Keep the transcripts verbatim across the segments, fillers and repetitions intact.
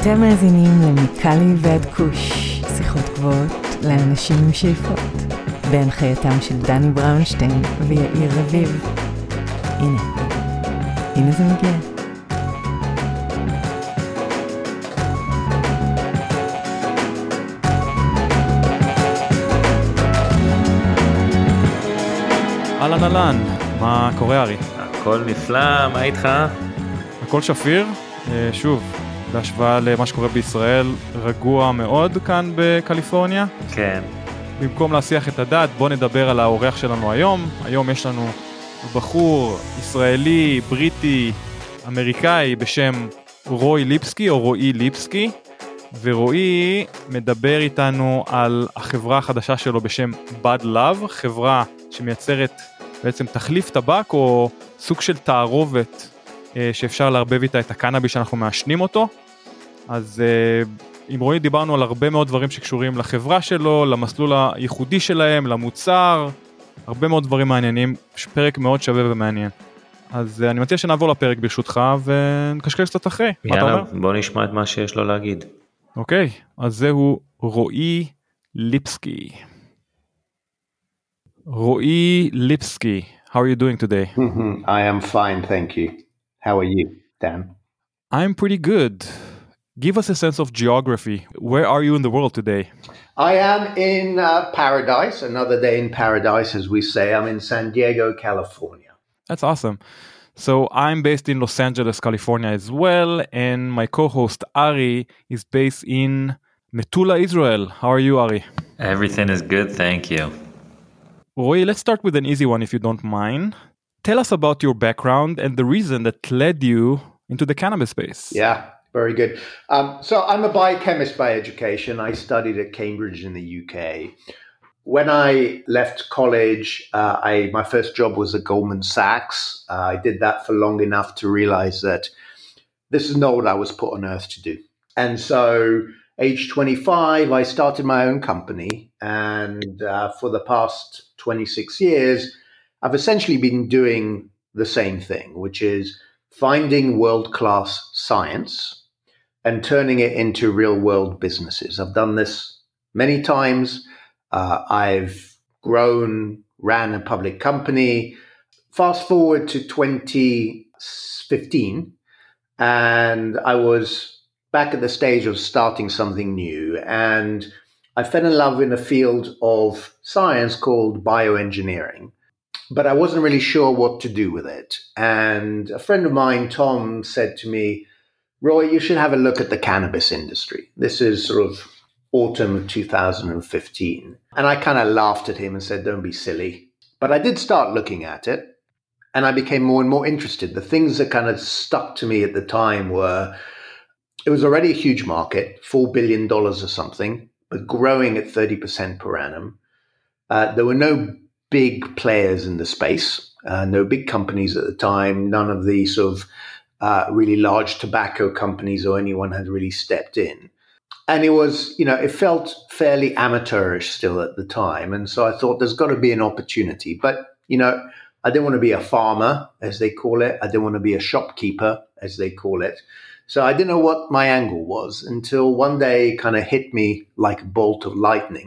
אתם מאזינים למיקלי ועד כוש, שיחות גבוהות לאנשים עם שאיפות, בהנחייתם של דני בראונשטיין ויאיר רביב. הנה, הנה זה מגיע. אהלן אהלן, מה קורה ארי? הכל נפלא, מה איתך? הכל שפיר, שוב, בהשוואה למה שקורה בישראל, רגוע מאוד כאן בקליפורניה. כן. במקום להסיח את הדעת, בוא נדבר על האורח שלנו היום. היום יש לנו בחור ישראלי, בריטי, אמריקאי בשם רוי ליפסקי או רועי ליפסקי, ורועי מדבר איתנו על החברה החדשה שלו בשם Bud Love, חברה שמייצרת בעצם תחליף טבק או סוג של תערובת שאפשר להרבב איתה את הקנאביס שאנחנו מעשנים אותו. אז עם רועי דיברנו על הרבה מאוד דברים שקשורים לחברה שלו, למסלול הייחודי שלהם, למוצר, הרבה מאוד דברים מעניינים, פרק מאוד שווה ומעניין. אז אני מציע שנעבור לפרק ברשותך ונקשקש קצת אחרי. יאללה, בוא נשמע את מה שיש לו להגיד. אוקיי, אז זהו רועי ליפסקי. רועי ליפסקי, how are you doing today? I am fine, thank you. How are you, Dan? I'm pretty good. Give us a sense of geography. Where are you in the world today? I am in uh, paradise, another day in paradise, as we say. I'm in San Diego, California. That's awesome. So I'm based in Los Angeles, California as well, and my co-host Ari is based in Metula, Israel. How are you, Ari? Everything is good, thank you. Roy, let's start with an easy one if you don't mind. Tell us about your background and the reason that led you into the cannabis space. Yeah, very good. Um, so I'm a biochemist by education. I studied at Cambridge in the U K. When I left college, uh, I my first job was at Goldman Sachs. Uh, I did that for long enough to realize that this is not what I was put on earth to do. And so age twenty-five, I started my own company. And uh, for the past twenty-six years, I've essentially been doing the same thing, which is finding world-class science and turning it into real-world businesses. I've done this many times. Uh, I've grown, ran a public company. Fast forward to twenty fifteen, and I was back at the stage of starting something new. And I fell in love in a field of science called bioengineering. But I wasn't really sure what to do with it. And a friend of mine, Tom, said to me, Roy, you should have a look at the cannabis industry. This is sort of autumn of two thousand fifteen. And I kind of laughed at him and said, don't be silly. But I did start looking at it, and I became more and more interested. The things that kind of stuck to me at the time were, it was already a huge market, four billion dollars or something, but growing at thirty percent per annum. Uh, there were no big players in the space, uh, no big companies at the time, none of the sort of uh, really large tobacco companies or anyone had really stepped in. And it was, you know, it felt fairly amateurish still at the time. And so I thought there's got to be an opportunity. But, you know, I didn't want to be a farmer, as they call it. I didn't want to be a shopkeeper, as they call it. So I didn't know what my angle was until one day it kind of hit me like a bolt of lightning.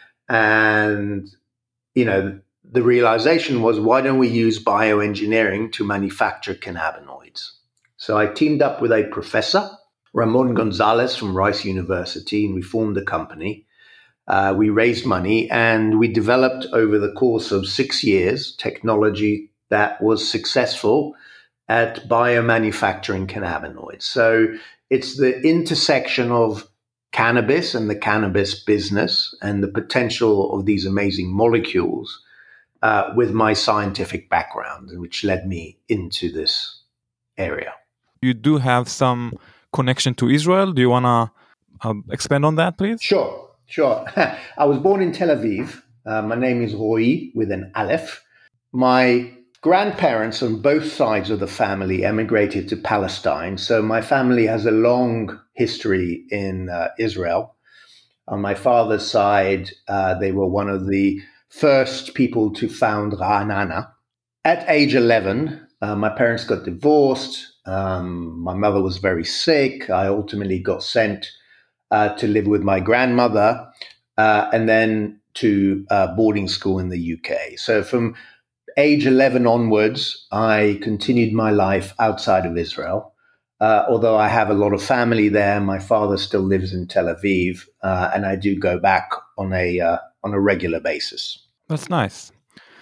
And, you know, the realization was, why don't we use bioengineering to manufacture cannabinoids? So I teamed up with a professor, Ramon Gonzalez from Rice University, and we formed a company. Uh, we raised money and we developed over the course of six years technology that was successful at biomanufacturing cannabinoids. So it's the intersection of cannabis and the cannabis business and the potential of these amazing molecules uh, with my scientific background, which led me into this area. You do have some connection to Israel. Do you want to uh, expand on that, please? Sure, sure. I was born in Tel Aviv. Uh, my name is Roy with an Aleph. My grandparents on both sides of the family emigrated to Palestine. So my family has a long history in uh, Israel. On my father's side, uh, they were one of the first people to found Ra'anana. At age eleven, uh, my parents got divorced. Um, my mother was very sick. I ultimately got sent uh, to live with my grandmother uh, and then to uh, boarding school in the U K. So from age eleven onwards, I continued my life outside of Israel. Uh, although I have a lot of family there, my father still lives in Tel Aviv, uh, and I do go back on a uh, on a regular basis. That's nice.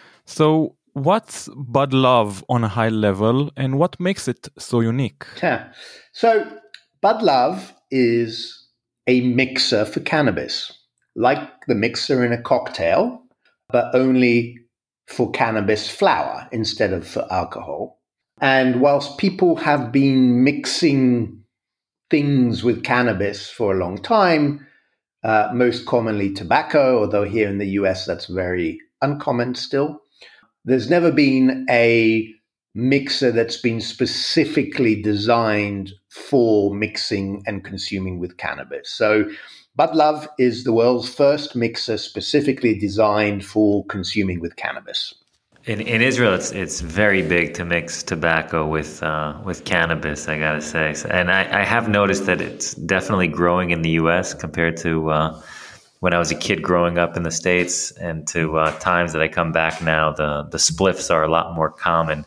So what's Bud Love on a high level, and what makes it so unique? Yeah. So Bud Love is a mixer for cannabis, like the mixer in a cocktail, but only for cannabis flower instead of for alcohol. And whilst people have been mixing things with cannabis for a long time, uh, most commonly tobacco, although here in the U S that's very uncommon still, there's never been a mixer that's been specifically designed for mixing and consuming with cannabis. So Bud Love is the world's first mixer specifically designed for consuming with cannabis. In in Israel, it's it's very big to mix tobacco with uh, with cannabis, I gotta say. So, and I, I have noticed that it's definitely growing in the U S compared to uh, when I was a kid growing up in the States, and to uh, times that I come back now. The the spliffs are a lot more common.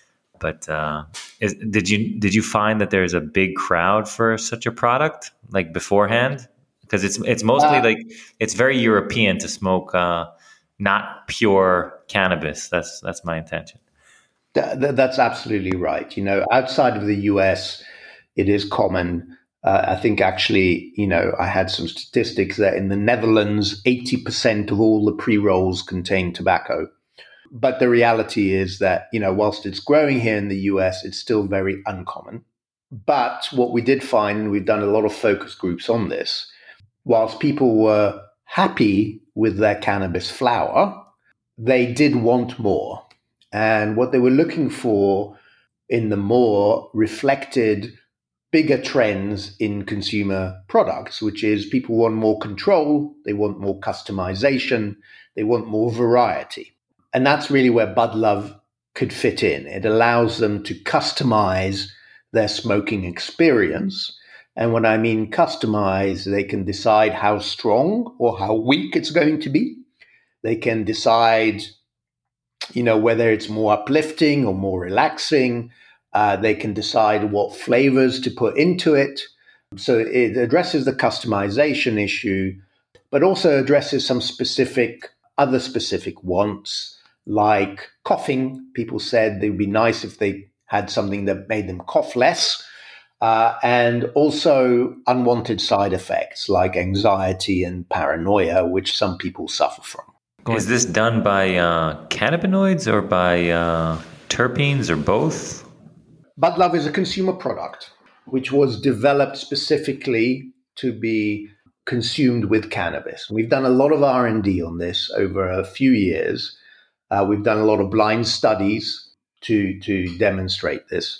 But uh, is, did you did you find that there's a big crowd for such a product like beforehand? Because it's it's mostly uh, like it's very European to smoke uh, not pure cannabis. That's that's my intention. Th- th- that's absolutely right. You know, outside of the U S, it is common. Uh, I think actually, you know, I had some statistics that in the Netherlands, eighty percent of all the pre-rolls contain tobacco. But the reality is that, you know, whilst it's growing here in the U S, it's still very uncommon. But what we did find, and we've done a lot of focus groups on this, whilst people were happy with their cannabis flower, they did want more. And what they were looking for in the more reflected bigger trends in consumer products, which is people want more control, they want more customization, they want more variety. And that's really where Bud Love could fit in. It allows them to customize their smoking experience. And when I mean customize, they can decide how strong or how weak it's going to be. They can decide, you know, whether it's more uplifting or more relaxing. Uh, they can decide what flavors to put into it. So it addresses the customization issue, but also addresses some specific, other specific wants, like coughing. People said it would be nice if they had something that made them cough less. Uh, and also unwanted side effects like anxiety and paranoia, which some people suffer from. Is this done by uh, cannabinoids or by uh, terpenes or both? Bud Love is a consumer product which was developed specifically to be consumed with cannabis. We've done a lot of R and D on this over a few years. Uh, we've done a lot of blind studies to, to demonstrate this.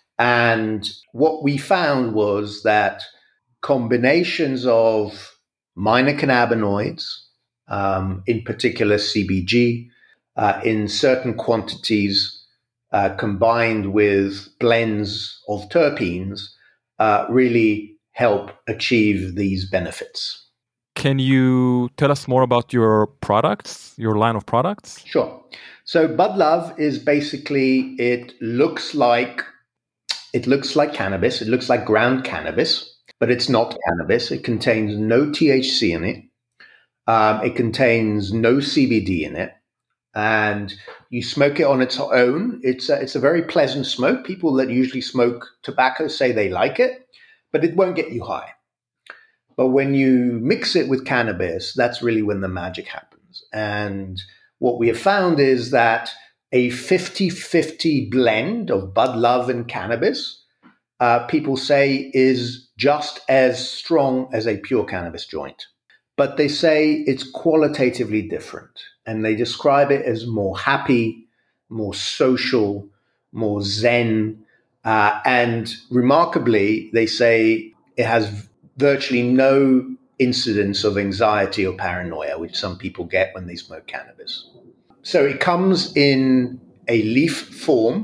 And what we found was that combinations of minor cannabinoids, um, in particular C B G, uh, in certain quantities, uh, combined with blends of terpenes, uh, really help achieve these benefits. Can you tell us more about your products, your line of products? Sure. So Bud Love is basically, it looks like It looks like cannabis. It looks like ground cannabis, but it's not cannabis. It contains no T H C in it. Um, it contains no C B D in it. And you smoke it on its own. It's a, it's a very pleasant smoke. People that usually smoke tobacco say they like it, but it won't get you high. But when you mix it with cannabis, that's really when the magic happens. And what we have found is that a fifty-fifty blend of Bud Love and cannabis, uh, people say is just as strong as a pure cannabis joint. But they say it's qualitatively different. And they describe it as more happy, more social, more zen. Uh, and remarkably, they say it has virtually no incidence of anxiety or paranoia, which some people get when they smoke cannabis. So it comes in a leaf form,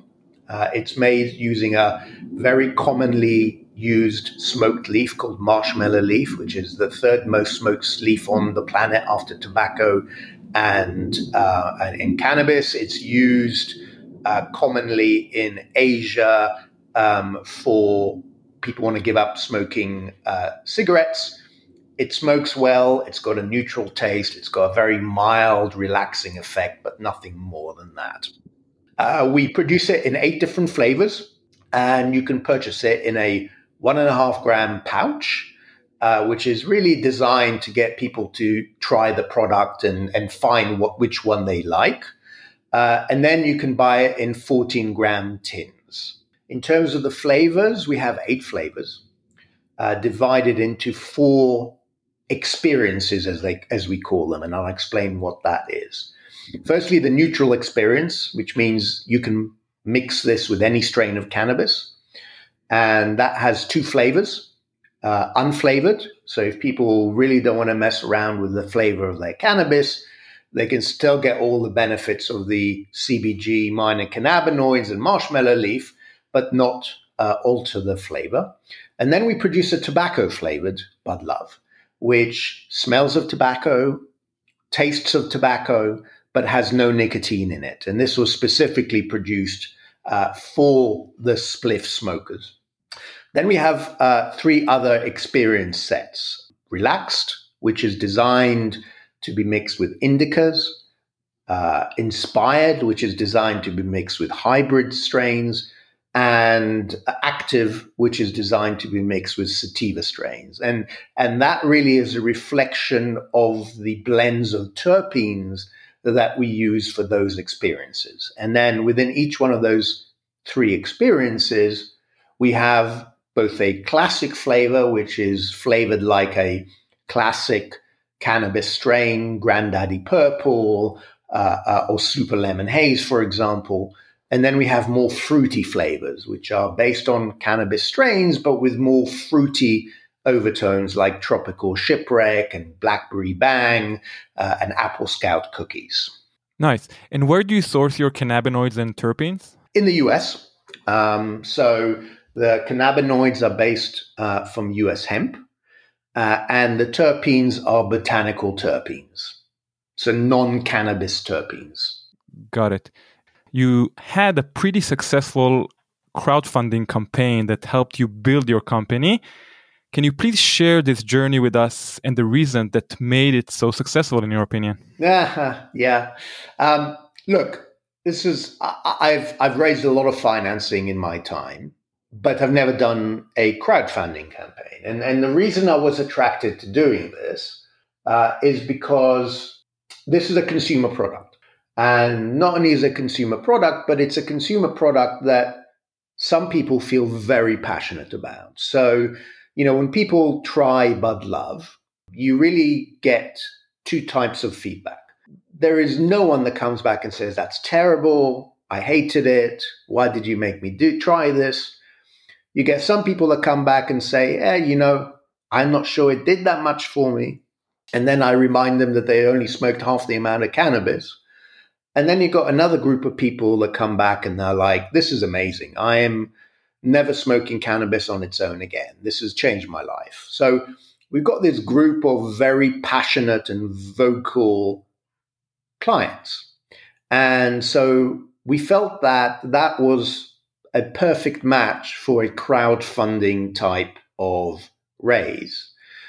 Uh, it's made using a very commonly used smoked leaf called marshmallow leaf, which is the third most smoked leaf on the planet after tobacco and, uh, and in cannabis. It's used uh, commonly in Asia um, for people who want to give up smoking uh, cigarettes. It smokes well. It's got a neutral taste. It's got a very mild, relaxing effect, but nothing more than that. Uh, we produce it in eight different flavors, and you can purchase it in a one and a half gram pouch, uh, which is really designed to get people to try the product and, and find what which one they like. Uh, and then you can buy it in fourteen gram tins. In terms of the flavors, we have eight flavors uh, divided into four experiences, as they as we call them, and I'll explain what that is. Firstly, the neutral experience, which means you can mix this with any strain of cannabis. And that has two flavors, uh, unflavored. So if people really don't want to mess around with the flavor of their cannabis, they can still get all the benefits of the C B G, minor cannabinoids, and marshmallow leaf, but not uh, alter the flavor. And then we produce a tobacco-flavored Bud Love, which smells of tobacco, tastes of tobacco, but has no nicotine in it. And this was specifically produced uh, for the spliff smokers. Then we have uh, three other experience sets. Relaxed, which is designed to be mixed with indicas. Uh, Inspired, which is designed to be mixed with hybrid strains. And Active, which is designed to be mixed with sativa strains. And, and that really is a reflection of the blends of terpenes that we use for those experiences. And then within each one of those three experiences, we have both a classic flavor, which is flavored like a classic cannabis strain, Granddaddy Purple, uh, uh, or Super Lemon Haze, for example. And then we have more fruity flavors, which are based on cannabis strains, but with more fruity overtones like Tropical Shipwreck and Blackberry Bang uh, and Apple Scout cookies. Nice. And where do you source your cannabinoids and terpenes? In the U S. Um, so the cannabinoids are based uh, from U S hemp, uh, and the terpenes are botanical terpenes, so non-cannabis terpenes. Got it. You had a pretty successful crowdfunding campaign that helped you build your company. Can you please share this journey with us and the reason that made it so successful, in your opinion? Yeah, yeah. Um, look, this is I, I've I've raised a lot of financing in my time, but I've never done a crowdfunding campaign. And and the reason I was attracted to doing this uh, is because this is a consumer product, and not only is it a consumer product, but it's a consumer product that some people feel very passionate about. So, you know, when people try Bud Love, you really get two types of feedback. There is no one that comes back and says, that's terrible, I hated it, why did you make me do try this? You get some people that come back and say, eh, you know, I'm not sure it did that much for me. And then I remind them that they only smoked half the amount of cannabis. And then you got another group of people that come back and they're like, this is amazing. I am never smoking cannabis on its own again. This has changed my life. So we've got this group of very passionate and vocal clients. And so we felt that that was a perfect match for a crowdfunding type of raise,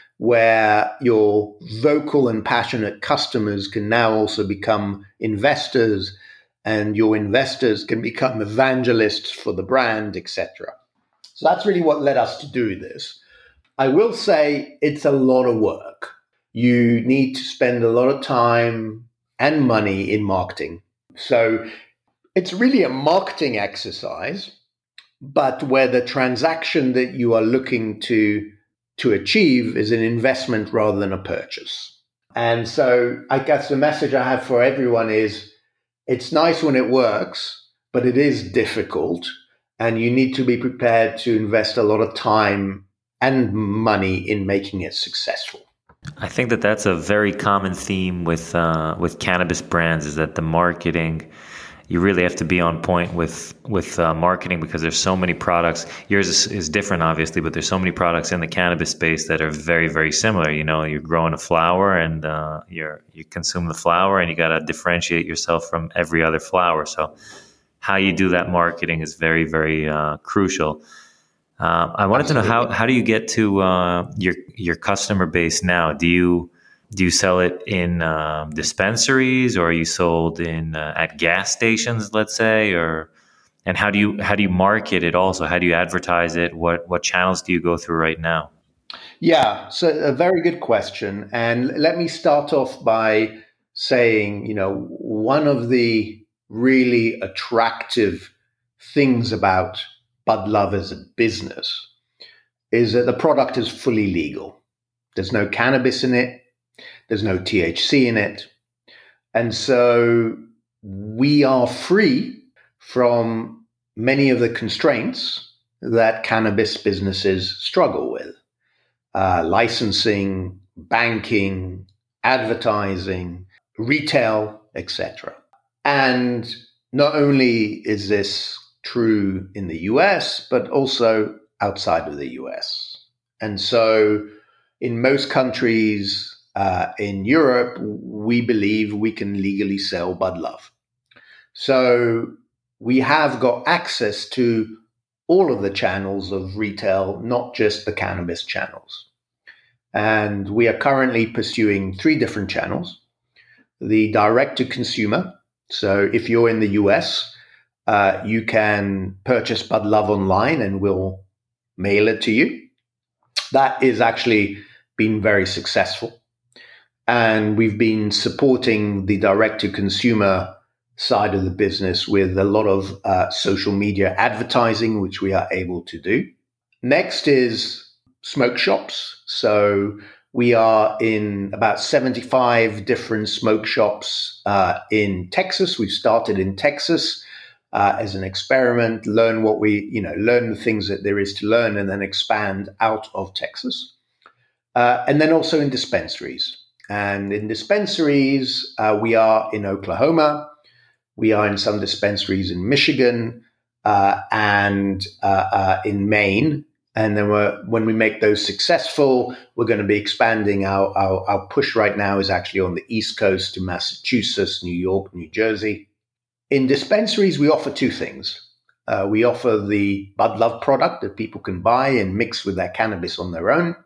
where your vocal and passionate customers can now also become investors, and your investors can become evangelists for the brand, et cetera. So that's really what led us to do this. I will say it's a lot of work. You need to spend a lot of time and money in marketing. So it's really a marketing exercise, but where the transaction that you are looking to, to achieve is an investment rather than a purchase. And so I guess the message I have for everyone is, it's nice when it works, but it is difficult, and you need to be prepared to invest a lot of time and money in making it successful. I think that that's a very common theme with uh, with cannabis brands, is that the marketing you really have to be on point with with uh, marketing because there's so many products. Yours is, is different, obviously, but there's so many products in the cannabis space that are very, very similar. You know, you're growing a flower and uh, you're you consume the flower, and you got to differentiate yourself from every other flower. So, how you do that marketing is very, very uh, crucial. Uh, I wanted Absolutely. to know how how do you get to uh, your your customer base now? Do you Do you sell it in uh, dispensaries, or are you sold in uh, at gas stations, let's say, or and how do you how do you market it? Also, how do you advertise it? What what channels do you go through right now? Yeah, so a very good question, and let me start off by saying, you know, one of the really attractive things about Bud Love as a business is that the product is fully legal. There's no cannabis in it. There's no T H C in it. And so we are free from many of the constraints that cannabis businesses struggle with. Uh, licensing, banking, advertising, retail, et cetera. And not only is this true in the U S, but also outside of the U S. And so in most countries, Uh, in Europe, we believe we can legally sell Bud Love. So we have got access to all of the channels of retail, not just the cannabis channels. And we are currently pursuing three different channels. The direct-to-consumer. So if you're in the U S, uh, you can purchase Bud Love online and we'll mail it to you. That is actually been very successful. And we've been supporting the direct-to-consumer side of the business with a lot of uh, social media advertising, which we are able to do. Next is smoke shops. So we are in about seventy-five different smoke shops uh, in Texas. We've started in Texas uh, as an experiment, learn what we, you know, learn the things that there is to learn, and then expand out of Texas. Uh, and then also in dispensaries. And in dispensaries, uh, we are in Oklahoma, we are in some dispensaries in Michigan, uh, and uh, uh, in Maine. And then we're, when we make those successful, we're going to be expanding. Our, our, our push right now is actually on the East Coast to Massachusetts, New York, New Jersey. In dispensaries, we offer two things. Uh, we offer the Bud Love product that people can buy and mix with their cannabis on their own.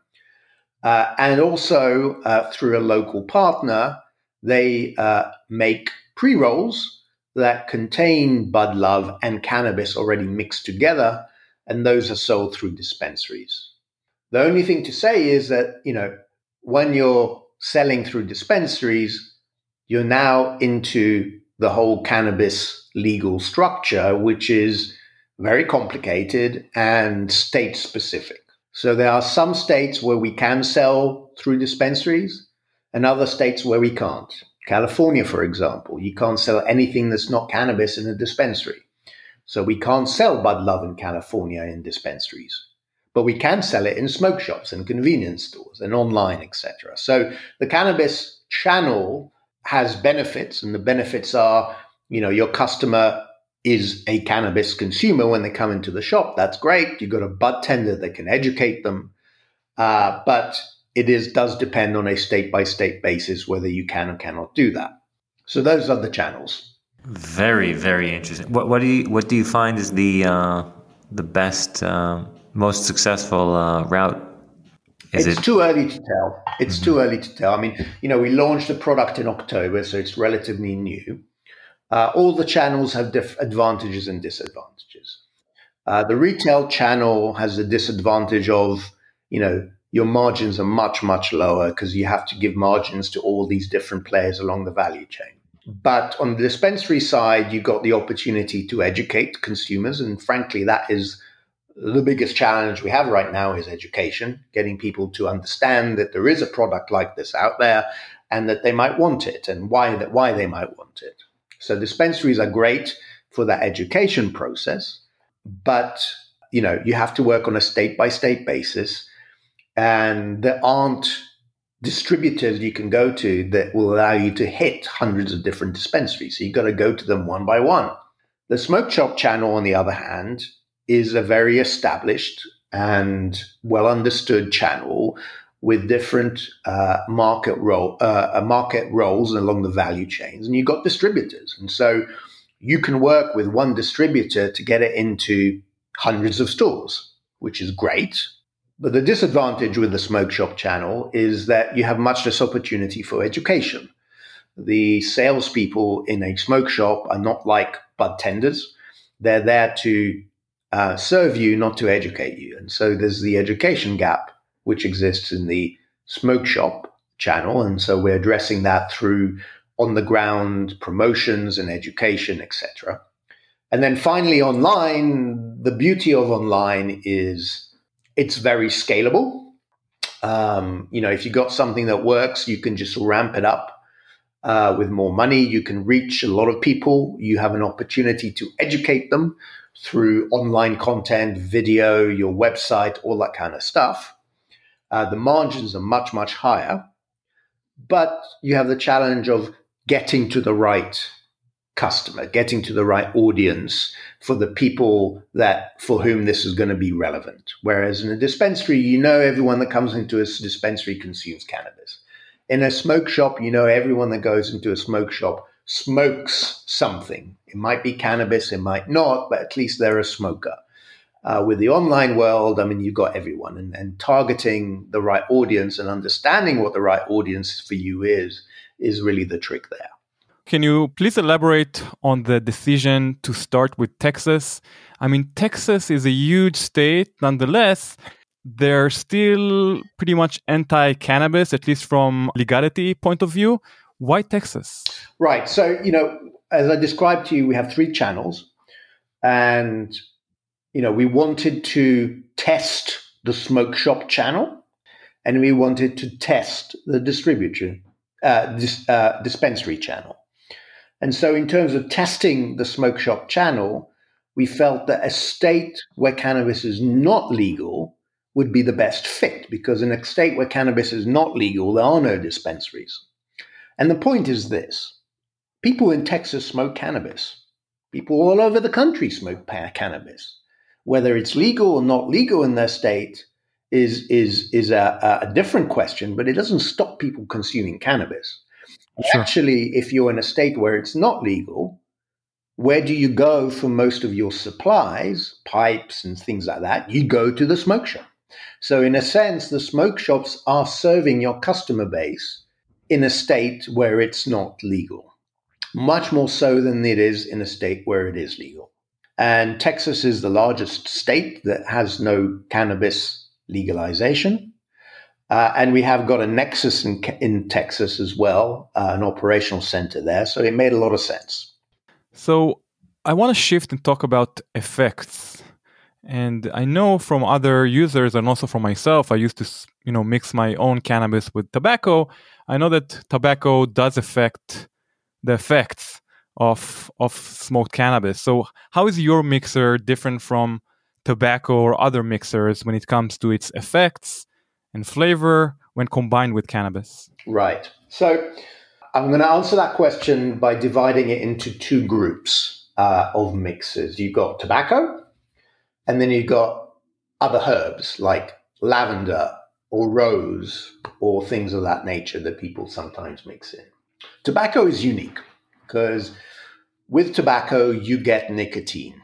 Uh, and also, uh, through a local partner, they uh, make pre-rolls that contain Bud Love and cannabis already mixed together, and those are sold through dispensaries. The only thing to say is that, you know, when you're selling through dispensaries, you're now into the whole cannabis legal structure, which is very complicated and state-specific. So there are some states where we can sell through dispensaries and other states where we can't. California, for example, you can't sell anything that's not cannabis in a dispensary. So we can't sell Bud Love in California in dispensaries, but we can sell it in smoke shops and convenience stores and online, et cetera. So the cannabis channel has benefits, and the benefits are, you know, your customer is a cannabis consumer when they come into the shop. That's great. You've got a bud tender that can educate them. Uh, but it is does depend on a state-by-state basis whether you can or cannot do that. So those are the channels. Very, very interesting. What, what do you what do you find is the uh, the best, uh, most successful uh, route? Is it's it... too early to tell. It's mm-hmm. too early to tell. I mean, you know, we launched the product in October, so it's relatively new. Uh, all the channels have diff- advantages and disadvantages. Uh, the retail channel has the disadvantage of, you know, your margins are much, much lower because you have to give margins to all these different players along the value chain. But on the dispensary side, you got the opportunity to educate consumers. And frankly, that is the biggest challenge we have right now is education, getting people to understand that there is a product like this out there and that they might want it and why that why they might want it. So dispensaries are great for that education process, but you know, you have to work on a state by state basis, and there aren't distributors you can go to that will allow you to hit hundreds of different dispensaries. So you've got to go to them one by one. The smoke shop channel, on the other hand, is a very established and well understood channel with different uh, market role, uh, market roles along the value chains. And you've got distributors. And so you can work with one distributor to get it into hundreds of stores, which is great. But the disadvantage with the smoke shop channel is that you have much less opportunity for education. The salespeople in a smoke shop are not like bud tenders. They're there to uh, serve you, not to educate you. And so there's the education gap, which exists in the smoke shop channel. And so we're addressing that through on-the-ground promotions and education, et cetera. And then finally, online, the beauty of online is it's very scalable. Um, you know, if you got something that works, you can just ramp it up uh, with more money. You can reach a lot of people. You have an opportunity to educate them through online content, video, your website, all that kind of stuff. Uh, the margins are much, much higher. But you have the challenge of getting to the right customer, getting to the right audience for the people that for whom this is going to be relevant. Whereas in a dispensary, you know everyone that comes into a dispensary consumes cannabis. In a smoke shop, you know everyone that goes into a smoke shop smokes something. It might be cannabis, it might not, but at least they're a smoker. Uh, with the online world, I mean, you've got everyone, and, and targeting the right audience and understanding what the right audience for you is, is really the trick there. Can you please elaborate on the decision to start with Texas? I mean, Texas is a huge state. Nonetheless, they're still pretty much anti-cannabis, at least from legality point of view. Why Texas? Right. So, you know, as I described to you, we have three channels. And, you know, we wanted to test the smoke shop channel, and we wanted to test the distributor, uh, dis, uh, dispensary channel. And so in terms of testing the smoke shop channel, we felt that a state where cannabis is not legal would be the best fit, because in a state where cannabis is not legal, there are no dispensaries. And the point is this: people in Texas smoke cannabis. People all over the country smoke cannabis. Whether it's legal or not legal in their state is, is, is a, a different question, but it doesn't stop people consuming cannabis. Sure. Actually, if you're in a state where it's not legal, where do you go for most of your supplies, pipes and things like that? You go to the smoke shop. So in a sense, the smoke shops are serving your customer base in a state where it's not legal, much more so than it is in a state where it is legal. And Texas is the largest state that has no cannabis legalization. Uh, and we have got a nexus in, in Texas as well, uh, an operational center there. So it made a lot of sense. So I want to shift and talk about effects. And I know from other users and also from myself, I used to, you know, mix my own cannabis with tobacco. I know that tobacco does affect the effects of of smoked cannabis. So how is your mixer different from tobacco or other mixers when it comes to its effects and flavor when combined with cannabis? Right. So I'm going to answer that question by dividing it into two groups uh, of mixers. You've got tobacco, and then you've got other herbs like lavender or rose or things of that nature that people sometimes mix in. Tobacco is unique because with tobacco, you get nicotine.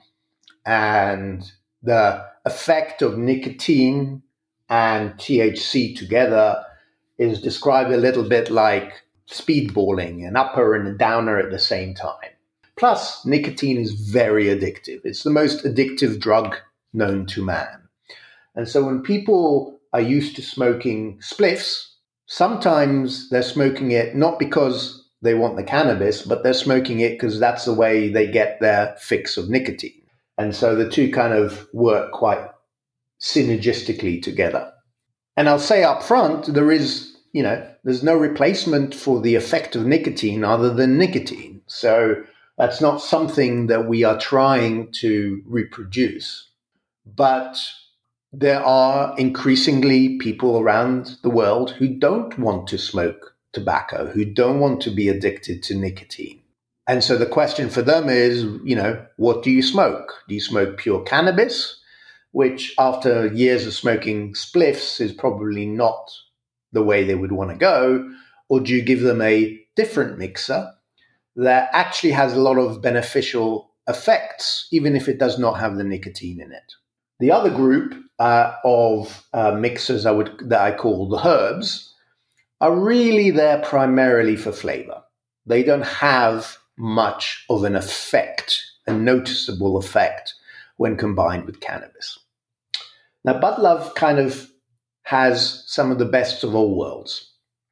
And the effect of nicotine and T H C together is described a little bit like speedballing, an upper and a downer at the same time. Plus, nicotine is very addictive. It's the most addictive drug known to man. And so when people are used to smoking spliffs, sometimes they're smoking it not because they want the cannabis, but they're smoking it because that's the way they get their fix of nicotine. And so the two kind of work quite synergistically together. And I'll say up front, there is, you know, there's no replacement for the effect of nicotine other than nicotine. So that's not something that we are trying to reproduce. But there are increasingly people around the world who don't want to smoke tobacco, who don't want to be addicted to nicotine. And so the question for them is, you know, what do you smoke? Do you smoke pure cannabis, which after years of smoking spliffs is probably not the way they would want to go? Or do you give them a different mixer that actually has a lot of beneficial effects, even if it does not have the nicotine in it? The other group uh, of uh, mixers I would that I call the herbs are really there primarily for flavor. They don't have much of an effect, a noticeable effect, when combined with cannabis. Now, Bud Love kind of has some of the best of all worlds.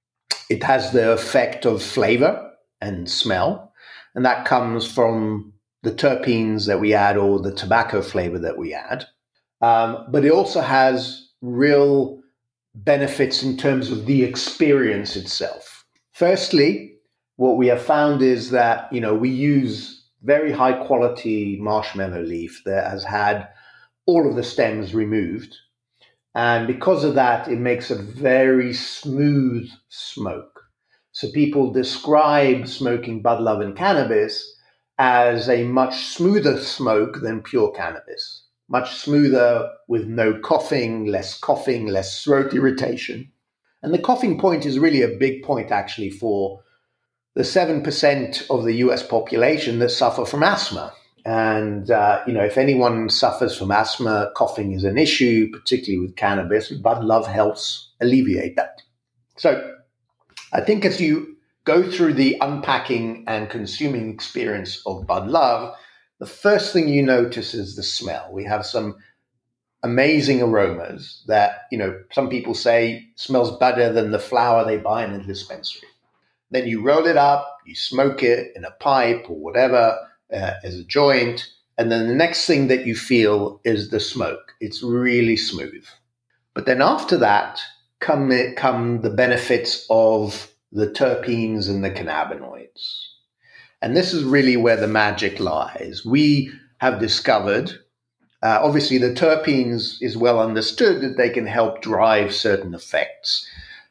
It has the effect of flavor and smell, and that comes from the terpenes that we add or the tobacco flavor that we add. Um, but it also has real benefits in terms of the experience itself. Firstly, what we have found is that, you know, we use very high quality marshmallow leaf that has had all of the stems removed. And because of that, it makes a very smooth smoke. So people describe smoking Bud Love and cannabis as a much smoother smoke than pure cannabis. Much smoother with no coughing, less coughing, less throat irritation. And the coughing point is really a big point actually for the seven percent of the U S population that suffer from asthma. And, uh, you know, if anyone suffers from asthma, coughing is an issue, particularly with cannabis, and Bud Love helps alleviate that. So I think as you go through the unpacking and consuming experience of Bud Love, the first thing you notice is the smell. We have some amazing aromas that, you know, some people say smells better than the flower they buy in a dispensary. Then you roll it up, you smoke it in a pipe or whatever uh, as a joint. And then the next thing that you feel is the smoke. It's really smooth. But then after that come, come the benefits of the terpenes and the cannabinoids. And this is really where the magic lies. We have discovered, uh, obviously the terpenes is well understood that they can help drive certain effects.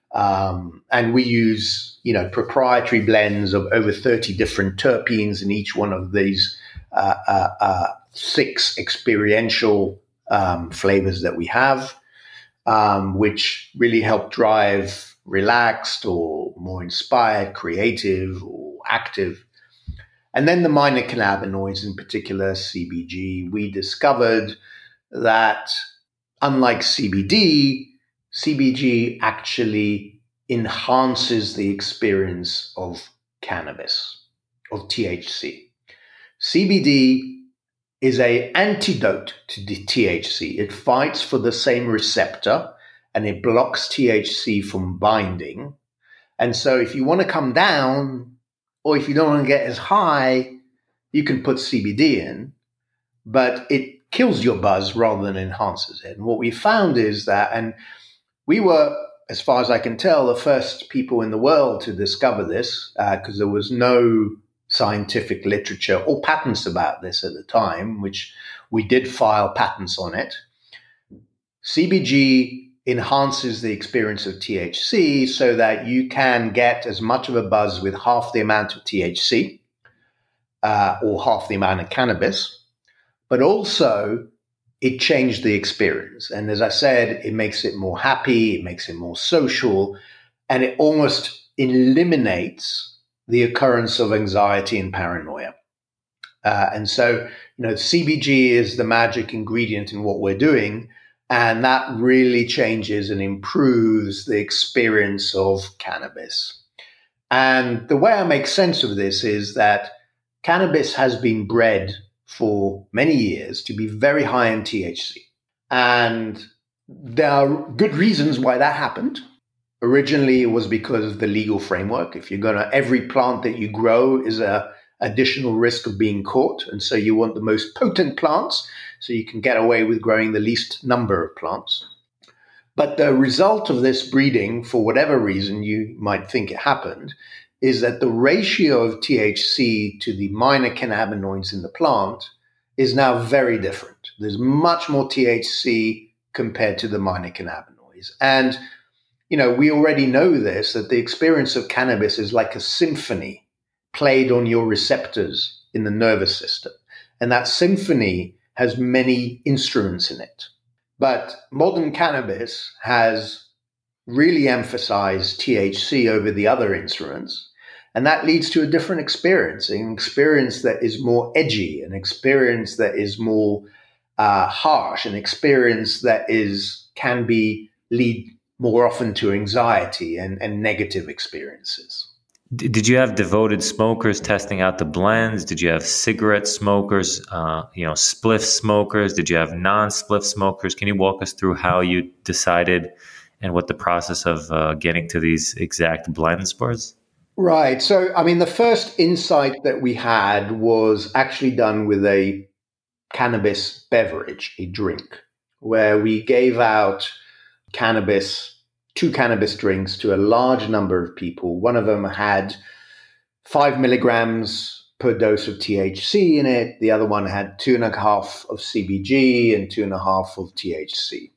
Um, and we use, you know, proprietary blends of over thirty different terpenes in each one of these uh, uh, uh, six experiential um, flavors that we have, um, which really help drive relaxed or more inspired, creative or active. And then the minor cannabinoids, in particular C B G, we discovered that unlike C B D, C B G actually enhances the experience of cannabis, of T H C. C B D is an antidote to the T H C. It fights for the same receptor and it blocks T H C from binding. And so if you want to come down or if you don't want to get as high, you can put C B D in, but it kills your buzz rather than enhances it. And what we found is that, and we were, as far as I can tell, the first people in the world to discover this because uh, there was no scientific literature or patents about this at the time, which we did file patents on it. C B G enhances the experience of T H C so that you can get as much of a buzz with half the amount of T H C uh, or half the amount of cannabis, but also it changed the experience. And as I said, it makes it more happy, it makes it more social, and it almost eliminates the occurrence of anxiety and paranoia. Uh, and so, you know, C B G is the magic ingredient in what we're doing. And that really changes and improves the experience of cannabis. And the way I make sense of this is that cannabis has been bred for many years to be very high in T H C. And there are good reasons why that happened. Originally, it was because of the legal framework. If you're going to, every plant that you grow is a additional risk of being caught. And so you want the most potent plants so you can get away with growing the least number of plants. But the result of this breeding, for whatever reason you might think it happened, is that the ratio of T H C to the minor cannabinoids in the plant is now very different. There's much more T H C compared to the minor cannabinoids. And, you know, we already know this, that the experience of cannabis is like a symphony played on your receptors in the nervous system. And that symphony has many instruments in it. But modern cannabis has really emphasized T H C over the other instruments. And that leads to a different experience, an experience that is more edgy, an experience that is more uh, harsh, an experience that is can be lead more often to anxiety and, and negative experiences. Did you have devoted smokers testing out the blends? Did you have cigarette smokers, uh, you know, spliff smokers? Did you have non-spliff smokers? Can you walk us through how you decided and what the process of uh, getting to these exact blends was? Right. So, I mean, the first insight that we had was actually done with a cannabis beverage, a drink, where we gave out cannabis two cannabis drinks to a large number of people. One of them had five milligrams per dose of T H C in it. The other one had two and a half of C B G and two and a half of T H C.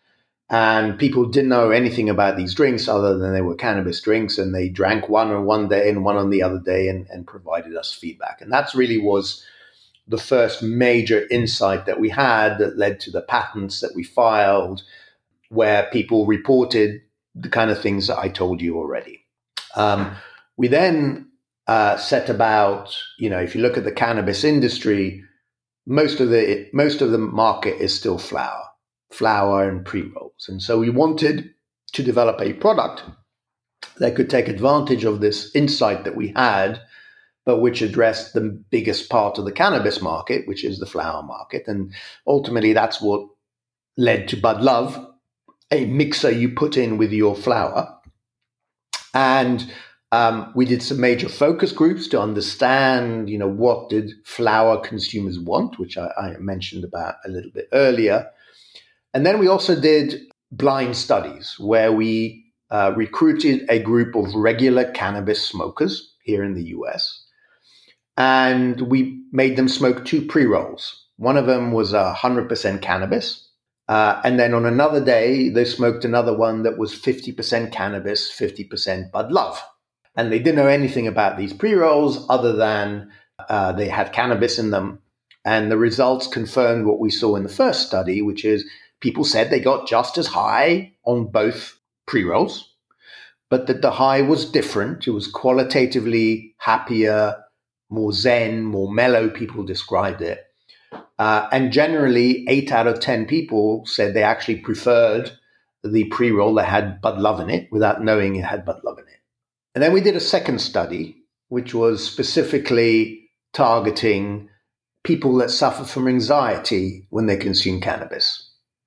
And people didn't know anything about these drinks other than they were cannabis drinks, and they drank one on one day and one on the other day and, and provided us feedback. And that really was the first major insight that we had that led to the patents that we filed, where people reported the kind of things that I told you already. Um, we then uh, set about, you know, if you look at the cannabis industry, most of the most of the market is still flower, flower and pre-rolls. And so we wanted to develop a product that could take advantage of this insight that we had, but which addressed the biggest part of the cannabis market, which is the flower market. And ultimately, that's what led to Bud Love, a mixer you put in with your flower. And um, we did some major focus groups to understand, you know, what did flower consumers want, which I, I mentioned about a little bit earlier. And then we also did blind studies where we uh, recruited a group of regular cannabis smokers here in the U S, and we made them smoke two pre-rolls. One of them was one hundred percent cannabis. Uh, and then on another day, they smoked another one that was fifty percent cannabis, fifty percent Bud Love. And they didn't know anything about these pre-rolls other than uh, they had cannabis in them. And the results confirmed what we saw in the first study, which is people said they got just as high on both pre-rolls, but that the high was different. It was qualitatively happier, more zen, more mellow, people described it. Uh, and generally, eight out of ten people said they actually preferred the pre-roll that had Bud Love in it without knowing it had Bud Love in it. And then we did a second study, which was specifically targeting people that suffer from anxiety when they consume cannabis.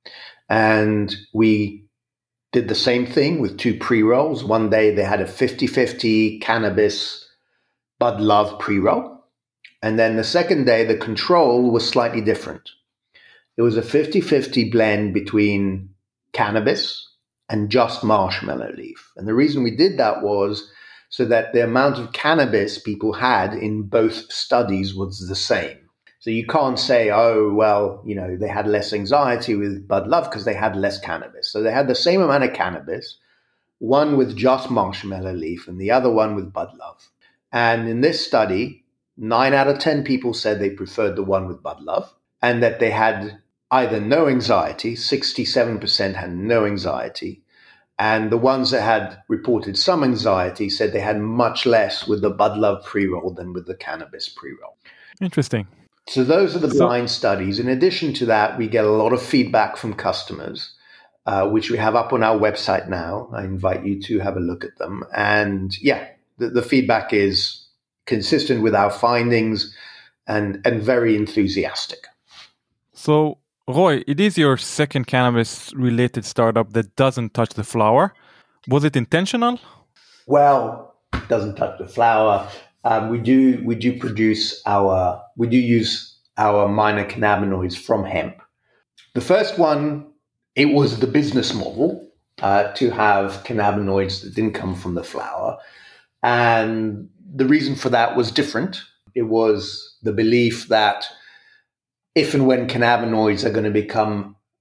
And we did the same thing with two pre-rolls. One day they had a fifty-fifty cannabis Bud Love pre-roll. And then the second day, the control was slightly different. It was a fifty-fifty blend between cannabis and just marshmallow leaf. And the reason we did that was so that the amount of cannabis people had in both studies was the same. So you can't say, oh, well, you know, they had less anxiety with Bud Love because they had less cannabis. So they had the same amount of cannabis, one with just marshmallow leaf and the other one with Bud Love. And in this study, nine out of ten people said they preferred the one with Bud Love, and that they had either no anxiety, sixty-seven percent had no anxiety, and the ones that had reported some anxiety said they had much less with the Bud Love pre-roll than with the cannabis pre-roll. Interesting. So those are the So- blind studies. In addition to that, we get a lot of feedback from customers, uh, which we have up on our website now. I invite you to have a look at them. And yeah, the, the feedback is consistent with our findings and, and very enthusiastic. So, Roy, it is your second cannabis-related startup that doesn't touch the flower. Was it intentional? Well, it doesn't touch the flower. Um, we do we do produce our we do use our minor cannabinoids from hemp. The first one, it was the business model uh, to have cannabinoids that didn't come from the flower, and the reason for that was different. It was the belief that if and when cannabinoids are going to become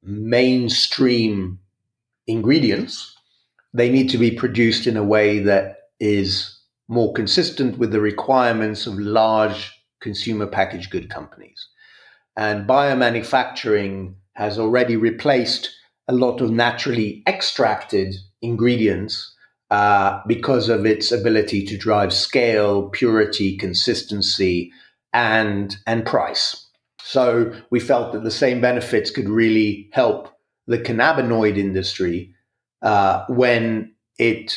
mainstream ingredients, they need to be produced in a way that is more consistent with the requirements of large consumer packaged good companies. And biomanufacturing has already replaced a lot of naturally extracted ingredients uh, because of its ability to drive scale, purity, consistency, and, and price. So we felt that the same benefits could really help the cannabinoid industry uh, when it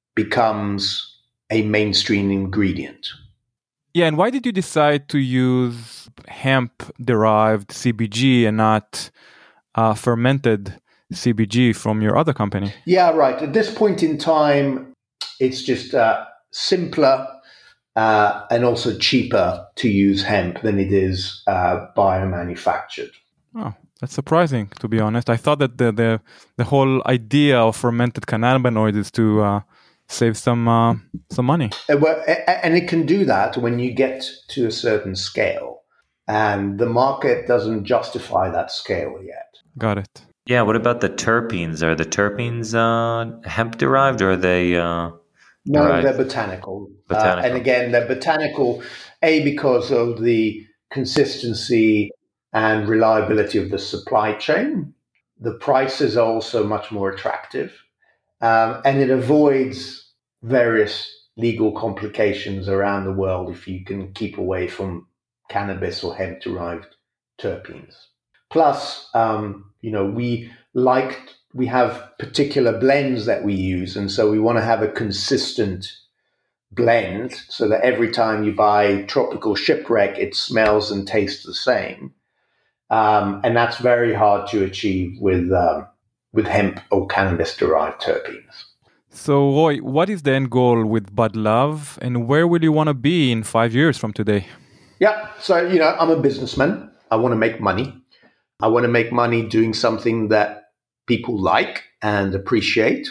becomes a mainstream ingredient. Yeah, and why did you decide to use hemp-derived C B G and not uh, fermented C B G from your other company? Yeah, right. At this point in time, it's just uh, simpler uh, and also cheaper to use hemp than it is uh, biomanufactured. Oh, that's surprising, to be honest. I thought that the the, the whole idea of fermented cannabinoids is to uh, save some uh, some money. And it can do that when you get to a certain scale, and the market doesn't justify that scale yet. Got it. Yeah, what about the terpenes? Are the terpenes uh, hemp derived, or are they? Uh, no, derived? They're botanical. botanical. Uh, and again, they're botanical, A, because of the consistency and reliability of the supply chain. The prices are also much more attractive, um, and it avoids various legal complications around the world if you can keep away from cannabis or hemp-derived terpenes. Plus, um, you know, we like, we have particular blends that we use, and so we want to have a consistent blend so that every time you buy Tropical Shipwreck, it smells and tastes the same. Um, and that's very hard to achieve with um, with hemp or cannabis-derived terpenes. So, Roy, what is the end goal with Bud Love, and where will you want to be in five years from today? Yeah, so, you know, I'm a businessman. I want to make money. I want to make money doing something that people like and appreciate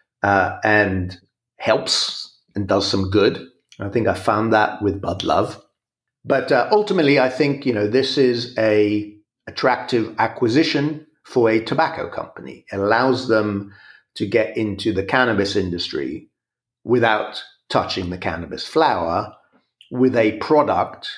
uh, and helps and does some good. I think I found that with Bud Love. But uh, ultimately, I think, you know, this is a attractive acquisition for a tobacco company. It allows them to get into the cannabis industry without touching the cannabis flower, with a product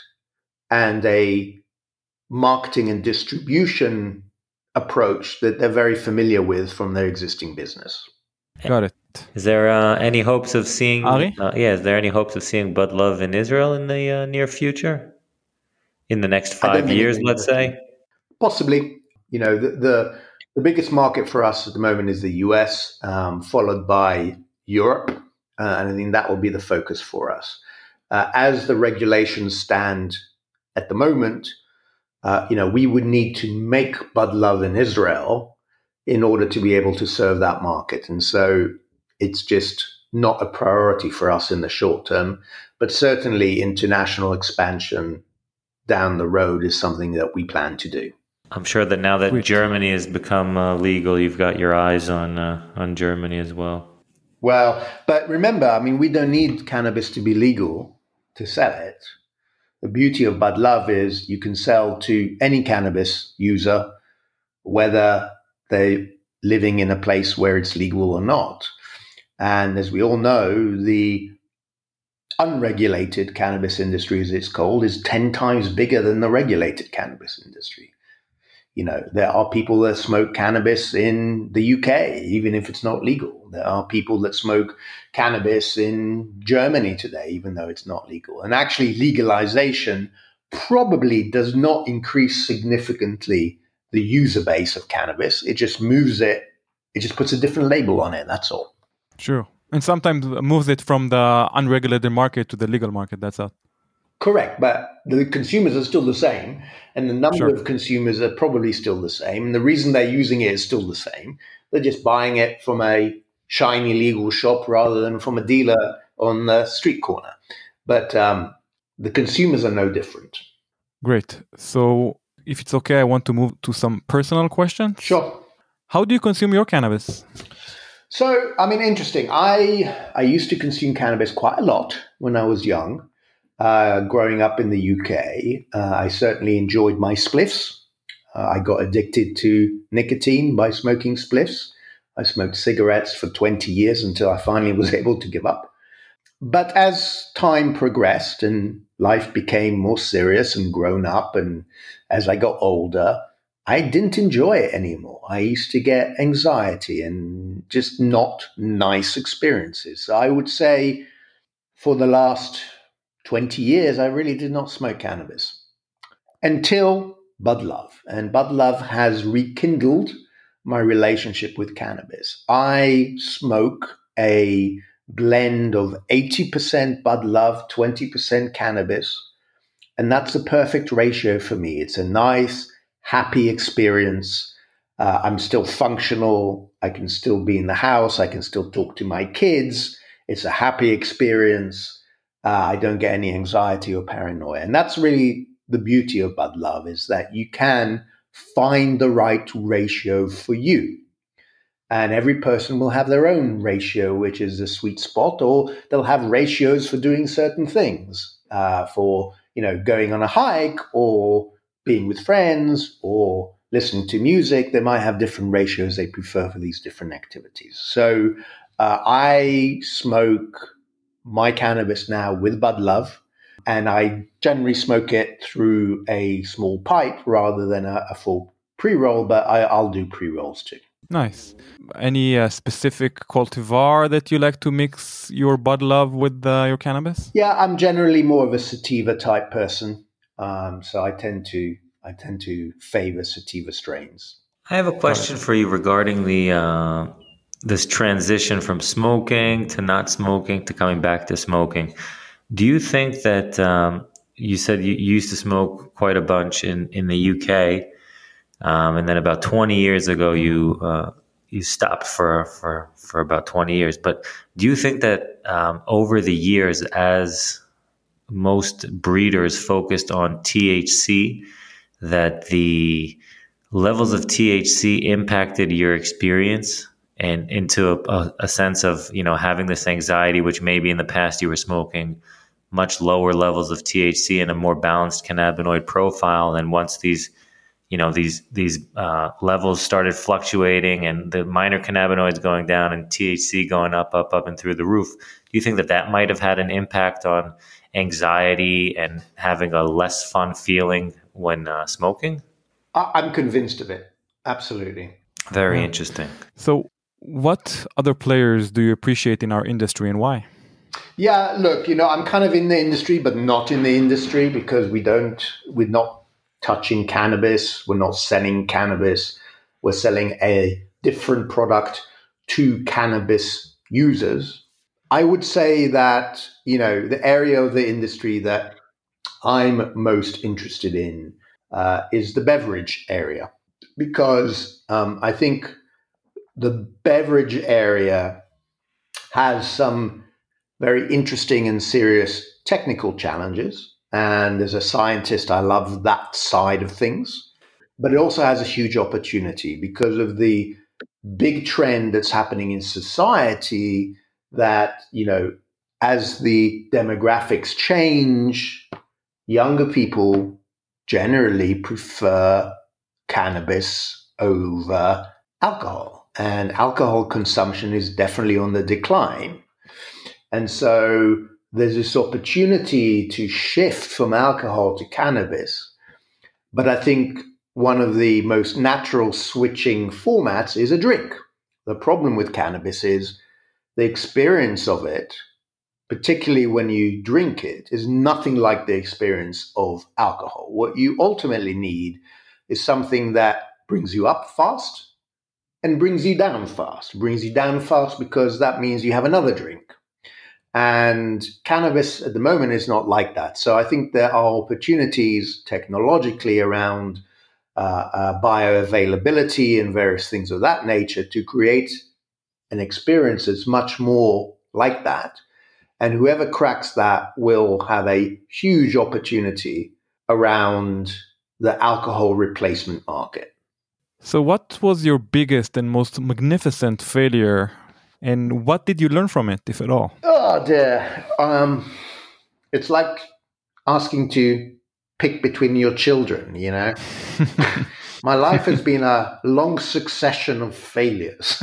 and a marketing and distribution approach that they're very familiar with from their existing business. Got it. Is there uh, any hopes of seeing? Ari? Uh, yeah, is there any hopes of seeing Bud Love in Israel in the uh, near future? In the next five years, let's say. Possibly. You know, the, the the biggest market for us at the moment is the U S, um, followed by Europe, uh, and I think that will be the focus for us. Uh, as the regulations stand at the moment, uh, you know, we would need to make Bud Love in Israel in order to be able to serve that market. And so it's just not a priority for us in the short term, but certainly international expansion down the road is something that we plan to do. I'm sure that now that Sweet. Germany has become uh, legal, you've got your eyes on uh, on Germany as well. Well, but remember, I mean, we don't need cannabis to be legal to sell it. The beauty of Bud Love is you can sell to any cannabis user, whether they're living in a place where it's legal or not. And as we all know, the unregulated cannabis industry, as it's called, is ten times bigger than the regulated cannabis industry. You know, there are people that smoke cannabis in the U K, even if it's not legal. There are people that smoke cannabis in Germany today, even though it's not legal. And actually, legalization probably does not increase significantly the user base of cannabis. It just moves it, it just puts a different label on it, that's all. Sure. And sometimes moves it from the unregulated market to the legal market, that's all. Correct, but the consumers are still the same, and the number Sure. of consumers are probably still the same. And the reason they're using it is still the same. They're just buying it from a shiny legal shop rather than from a dealer on the street corner. But um, the consumers are no different. Great. So if it's okay, I want to move to some personal questions. Sure. How do you consume your cannabis? So, I mean, interesting. I I used to consume cannabis quite a lot when I was young. Uh, growing up in the U K, uh, I certainly enjoyed my spliffs. Uh, I got addicted to nicotine by smoking spliffs. I smoked cigarettes for twenty years until I finally was able to give up. But as time progressed and life became more serious and grown up, and as I got older, I didn't enjoy it anymore. I used to get anxiety and just not nice experiences. So I would say for the last twenty years, I really did not smoke cannabis until Bud Love. And Bud Love has rekindled my relationship with cannabis. I smoke a blend of eighty percent Bud Love, twenty percent cannabis. And that's the perfect ratio for me. It's a nice, happy experience. Uh, I'm still functional. I can still be in the house. I can still talk to my kids. It's a happy experience. Uh, I don't get any anxiety or paranoia. And that's really the beauty of Bud Love, is that you can find the right ratio for you. And every person will have their own ratio, which is a sweet spot, or they'll have ratios for doing certain things, uh, for, you know, going on a hike or being with friends or listening to music. They might have different ratios they prefer for these different activities. So uh, I smoke my cannabis now with Bud Love, and I generally smoke it through a small pipe rather than a, a full pre-roll, but I, I'll do pre-rolls too. Nice. Any uh, specific cultivar that you like to mix your Bud Love with uh, your cannabis? Yeah, I'm generally more of a sativa type person, um, so I tend to I tend to favor sativa strains. I have a question for you regarding the uh, this transition from smoking to not smoking to coming back to smoking. Do you think that um, you said you used to smoke quite a bunch in, in the U K, um, and then about twenty years ago you uh, you stopped for, for for about twenty years. But do you think that um, over the years, as most breeders focused on T H C, that the levels of T H C impacted your experience and into a, a, a sense of, you know, having this anxiety, which maybe in the past you were smoking much lower levels of T H C and a more balanced cannabinoid profile. And once these, you know, these these uh, levels started fluctuating and the minor cannabinoids going down and T H C going up, up, up and through the roof, do you think that that might have had an impact on anxiety and having a less fun feeling when uh, smoking? I'm convinced of it. Absolutely. Very Yeah. interesting. So what other players do you appreciate in our industry and why? Yeah, look, you know, I'm kind of in the industry, but not in the industry because we don't, we're not touching cannabis. We're not selling cannabis. We're selling a different product to cannabis users. I would say that, you know, the area of the industry that I'm most interested in uh, is the beverage area, because um, I think the beverage area has some very interesting and serious technical challenges. And as a scientist, I love that side of things. But it also has a huge opportunity because of the big trend that's happening in society that, you know, as the demographics change, younger people generally prefer cannabis over alcohol. And alcohol consumption is definitely on the decline. And so there's this opportunity to shift from alcohol to cannabis. But I think one of the most natural switching formats is a drink. The problem with cannabis is the experience of it, particularly when you drink it, is nothing like the experience of alcohol. What you ultimately need is something that brings you up fast and brings you down fast. Brings you down fast because that means you have another drink. And cannabis at the moment is not like that. So I think there are opportunities technologically around uh, uh, bioavailability and various things of that nature to create an experience that's much more like that. And whoever cracks that will have a huge opportunity around the alcohol replacement market. So what was your biggest and most magnificent failure, and what did you learn from it, if at all? Oh dear. Um, it's like asking to pick between your children, you know. My life has been a long succession of failures.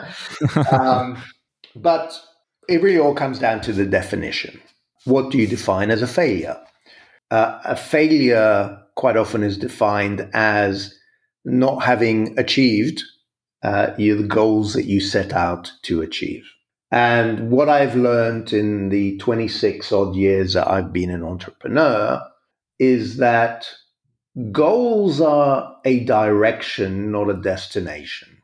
um, but it really all comes down to the definition. What do you define as a failure? Uh, a failure quite often is defined as not having achieved uh, the goals that you set out to achieve. And what I've learned in the twenty-six odd years that I've been an entrepreneur is that goals are a direction, not a destination,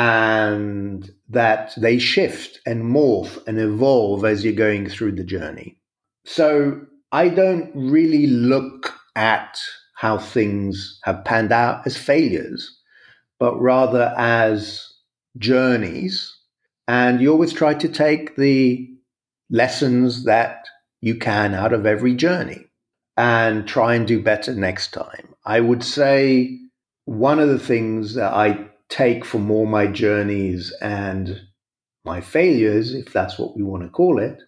and that they shift and morph and evolve as you're going through the journey. So I don't really look at how things have panned out as failures, but rather as journeys. And you always try to take the lessons that you can out of every journey and try and do better next time. I would say one of the things that I take from all my journeys and my failures, if that's what we want to call it,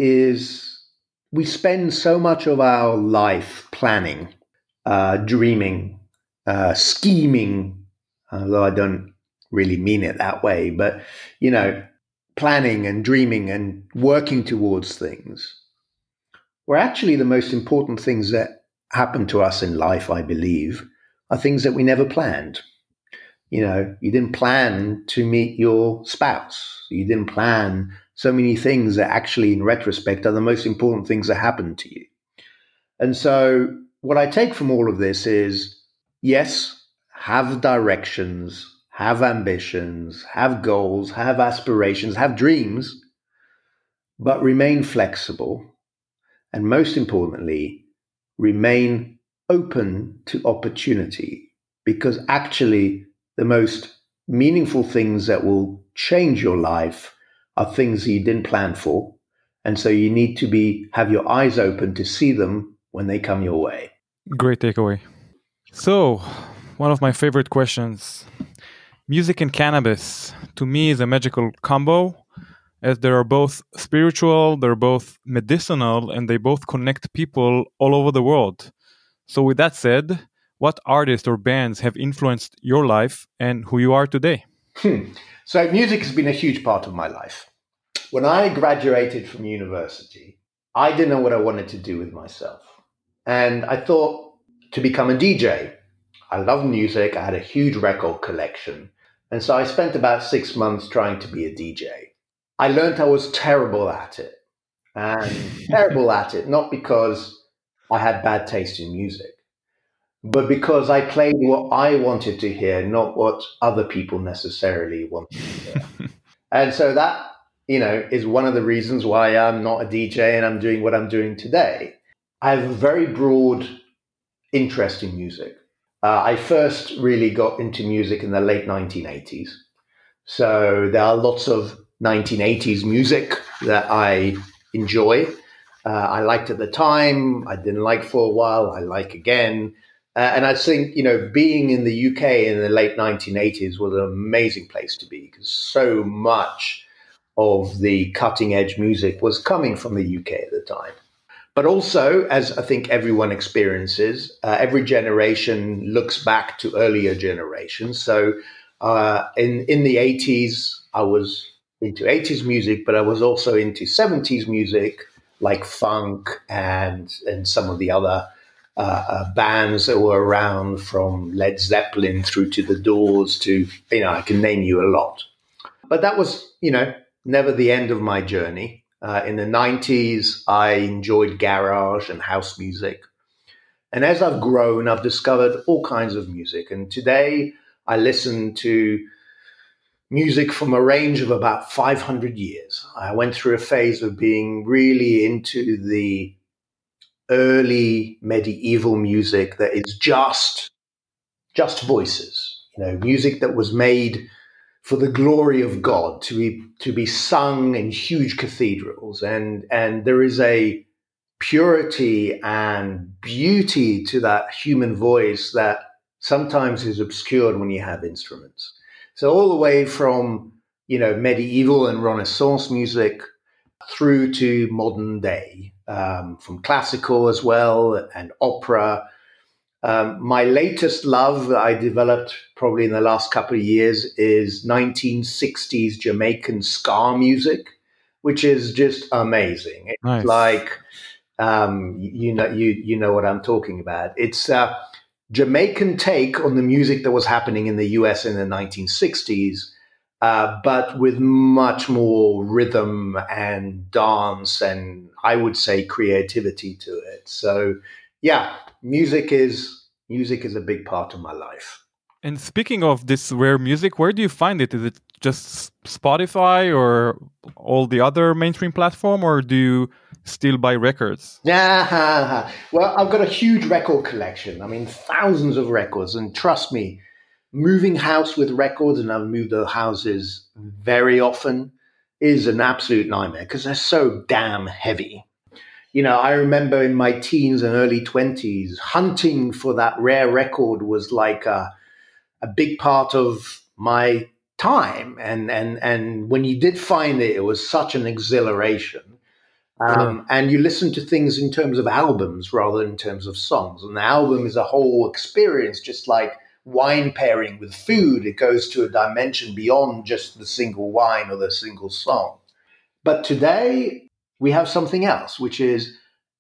is we spend so much of our life planning, uh, dreaming, uh, scheming, although I don't really mean it that way, but, you know, planning and dreaming and working towards things, where actually the most important things that happen to us in life, I believe, are things that we never planned. You know, you didn't plan to meet your spouse. You didn't plan so many things that actually, in retrospect, are the most important things that happened to you. And so what I take from all of this is, yes, have directions, have ambitions, have goals, have aspirations, have dreams, but remain flexible. And most importantly, remain open to opportunity, because actually the most meaningful things that will change your life are things that you didn't plan for. And so you need to be have your eyes open to see them when they come your way. Great takeaway. So, one of my favorite questions. Music and cannabis, to me, is a magical combo, as they are both spiritual, they're both medicinal, and they both connect people all over the world. So with that said, what artists or bands have influenced your life and who you are today? Hmm. So music has been a huge part of my life. When I graduated from university, I didn't know what I wanted to do with myself. And I thought to become a D J. I love music. I had a huge record collection. And so I spent about six months trying to be a D J. I learned I was terrible at it. And terrible at it, not because I had bad taste in music, but because I played what I wanted to hear, not what other people necessarily wanted to hear. And so that, you know, is one of the reasons why I'm not a D J and I'm doing what I'm doing today. I have a very broad interest in music. Uh, I first really got into music in the late nineteen eighties. So there are lots of nineteen eighties music that I enjoy. Uh, I liked at the time. I didn't like for a while. I like again. Uh, and I think, you know, being in the U K in the late nineteen eighties was an amazing place to be, because so much of the cutting edge music was coming from the U K at the time. But also, as I think everyone experiences, uh, every generation looks back to earlier generations. So uh, in, in the eighties, I was into eighties music, but I was also into seventies music, like funk and, and some of the other uh, uh, bands that were around, from Led Zeppelin through to The Doors to, you know, I can name you a lot. But that was, you know, never the end of my journey. Uh, in the nineties, I enjoyed garage and house music. And as I've grown, I've discovered all kinds of music. And today I listen to music from a range of about five hundred years. I went through a phase of being really into the early medieval music that is just, just voices, you know, music that was made for the glory of God, to be to be sung in huge cathedrals. And, and there is a purity and beauty to that human voice that sometimes is obscured when you have instruments. So all the way from, you know, medieval and Renaissance music through to modern day, um, from classical as well and opera. Um, my latest love that I developed probably in the last couple of years is nineteen sixties Jamaican ska music, which is just amazing. It's Nice. like, um, you know, you you know what I'm talking about. It's a Jamaican take on the music that was happening in the U S in the nineteen sixties, uh, but with much more rhythm and dance and I would say creativity to it. So, yeah, music is music is a big part of my life. And speaking of this rare music, where do you find it? Is it just Spotify or all the other mainstream platform, or do you still buy records? Yeah, well, I've got a huge record collection. I mean, thousands of records. And trust me, moving house with records, and I've moved the houses very often, is an absolute nightmare because they're so damn heavy. You know, I remember in my teens and early twenties, hunting for that rare record was like a, a big part of my time. And, and, and when you did find it, it was such an exhilaration. Um, Sure. And you listen to things in terms of albums rather than in terms of songs. And the album is a whole experience, just like wine pairing with food. It goes to a dimension beyond just the single wine or the single song. But today, we have something else, which is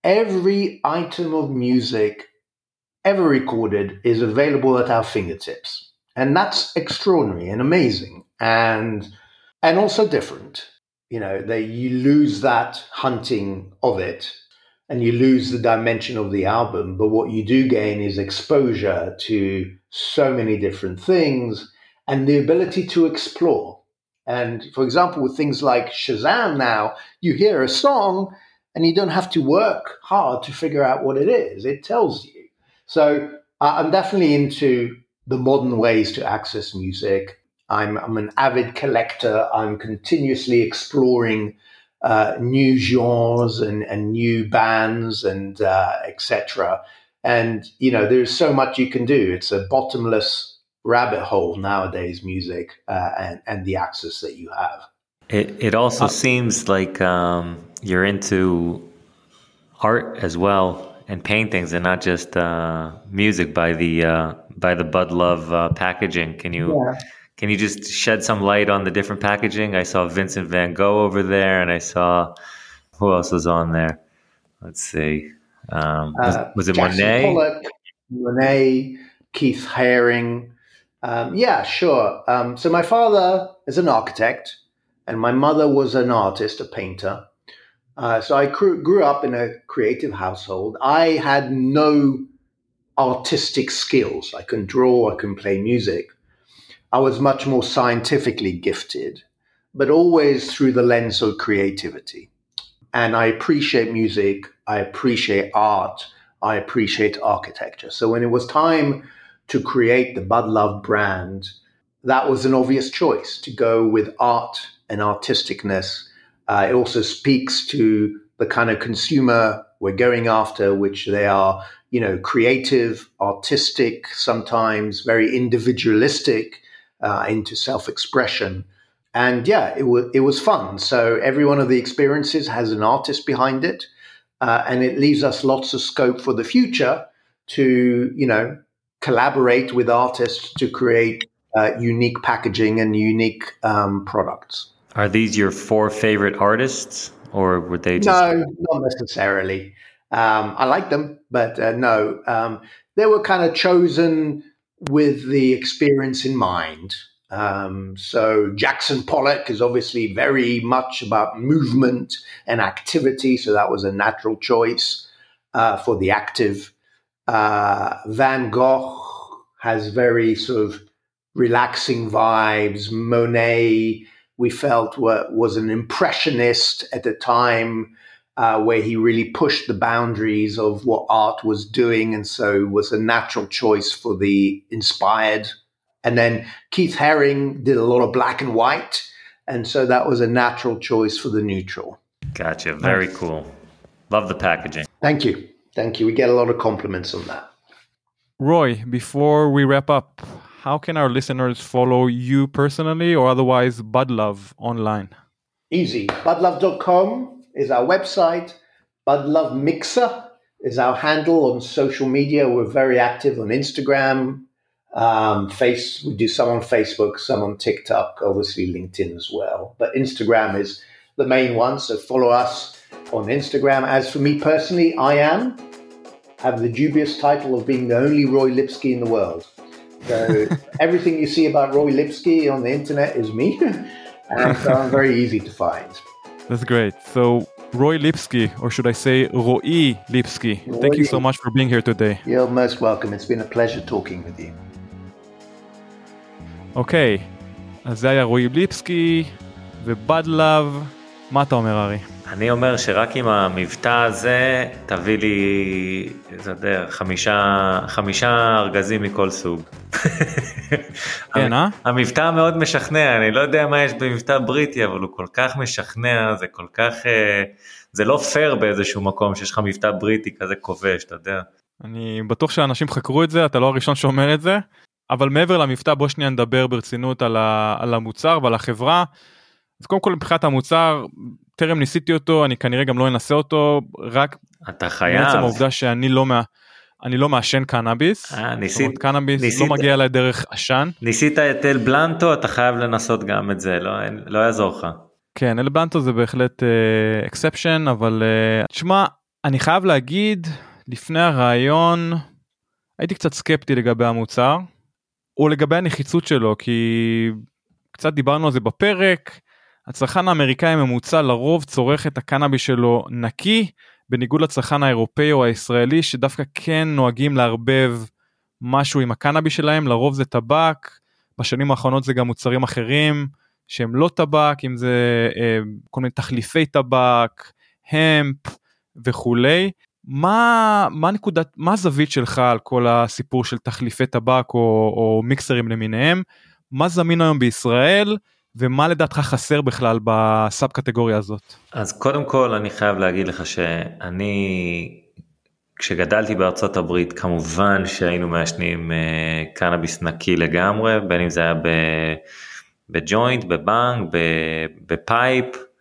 every item of music ever recorded is available at our fingertips. And that's extraordinary and amazing and and also different. You know, they, you lose that hunting of it and you lose the dimension of the album. But what you do gain is exposure to so many different things and the ability to explore. And for example, with things like Shazam now, you hear a song and you don't have to work hard to figure out what it is. It tells you. So uh, I'm definitely into the modern ways to access music. I'm, I'm an avid collector. I'm continuously exploring uh, new genres and, and new bands and uh, et cetera. And, you know, there's so much you can do. It's a bottomless rabbit hole nowadays, music uh, and, and the access that you have. It it also Uh, seems like um, you're into art as well and paintings, and not just uh, music by the uh, by the Bud Love uh, packaging. Can you Yeah. can you just shed some light on the different packaging? I saw Vincent van Gogh over there, and I saw who else was on there. Let's see, um, was, Uh, was it Jackson Monet? Pollock, Monet, Keith Haring. Um, yeah, sure. Um, so my father is an architect and my mother was an artist, a painter. Uh, so I grew, grew up in a creative household. I had no artistic skills. I couldn't draw, I couldn't play music. I was much more scientifically gifted, but always through the lens of creativity. And I appreciate music, I appreciate art, I appreciate architecture. So when it was time to create the Bud Love brand, that was an obvious choice to go with art and artisticness. Uh, it also speaks to the kind of consumer we're going after, which they are, you know, creative, artistic, sometimes very individualistic, uh, into self-expression. And yeah, it was it was fun. So every one of the experiences has an artist behind it, uh, and it leaves us lots of scope for the future to, you know, collaborate with artists to create uh, unique packaging and unique um, products. Are these your four favorite artists, or were they just? No, not necessarily. Um, I like them, but uh, no, um, they were kind of chosen with the experience in mind. Um, so Jackson Pollock is obviously very much about movement and activity, so that was a natural choice uh, for the active. Uh, Van Gogh has very sort of relaxing vibes. Monet, we felt, were, was an impressionist at the time, uh, where he really pushed the boundaries of what art was doing, and so was a natural choice for the inspired. And then Keith Haring did a lot of black and white, and so that was a natural choice for the neutral. Gotcha. Very Nice. cool. Love the packaging. Thank you. Thank you. We get a lot of compliments on that. Roy, before we wrap up, how can our listeners follow you personally or otherwise Bud Love online? Easy. bud love dot com is our website. Bud Love Mixer is our handle on social media. We're very active on Instagram, um, face. We do some on Facebook, some on TikTok, obviously LinkedIn as well. But Instagram is the main one, so follow us on Instagram. As for me personally, I am have the dubious title of being the only Roy Lipsky in the world. So everything you see about Roy Lipsky on the internet is me, and so I'm very easy to find. That's great. So Roy Lipsky, or should I say Roy Lipsky, Roy. Thank you so much for being here today. You're most welcome. It's been a pleasure talking with you. אוקיי, אז זה היה רועי ליפסקי ובד לב. מה אתה אומר, ארי? אני אומר שרק עם המבטא הזה תביא לי, זה יודע, חמישה, חמישה ארגזים מכל סוג. כן, אה? המבטא מאוד משכנע, אני לא יודע מה יש במבטא בריטי, אבל הוא כל כך משכנע, זה כל כך, זה לא פייר באיזשהו מקום שיש לך מבטא בריטי כזה כובש, אתה יודע. אני בטוח שאנשים חקרו את זה, אתה לא הראשון שאומר את זה, אבל מעבר למבטא בוא שנייה נדבר ברצינות על, ה, על המוצר ועל החברה. אז קודם כל מבחינת המוצר, טרם ניסיתי אותו, אני כנראה גם לא אנסה אותו, רק אתה חייב. בעצם העובדה שאני לא, מה, אני לא מעשן קנאביס, אה, ניסית, זאת אומרת, קנאביס ניסית, לא מגיע אליי דרך עשן. ניסית את אל בלנטו, אתה חייב לנסות גם את זה, לא, לא יעזור לך. כן, אל בלנטו זה בהחלט אקספשן, uh, אבל uh, תשמע, אני חייב להגיד, לפני הרעיון, הייתי קצת סקפטי לגבי המוצר, או לגבי הנחיצות שלו, כי קצת דיברנו על זה בפרק, הצרכן האמריקאי הממוצע לרוב צורך את הקנאביס שלו נקי, בניגוד לצרכן האירופאי או הישראלי, שדווקא כן נוהגים לערבב משהו עם הקנאביס שלהם, לרוב זה טבק, בשנים האחרונות זה גם מוצרים אחרים, שהם לא טבק, אם זה אה, כל מיני תחליפי טבק, המפ וכולי. מה, מה נקודת, מה הזווית שלך על כל הסיפור של תחליפי טבק או, או מיקסרים למיניהם? מה זמין היום בישראל? ומה לדעתך חסר בכלל בסאב קטגוריה הזאת? אז קודם כל אני חייב להגיד לך שאני, כשגדלתי בארצות הברית, כמובן שהיינו מעשנים קנאביס נקי לגמרי, בין אם זה היה בג'וינט, בבנג, בפייפ,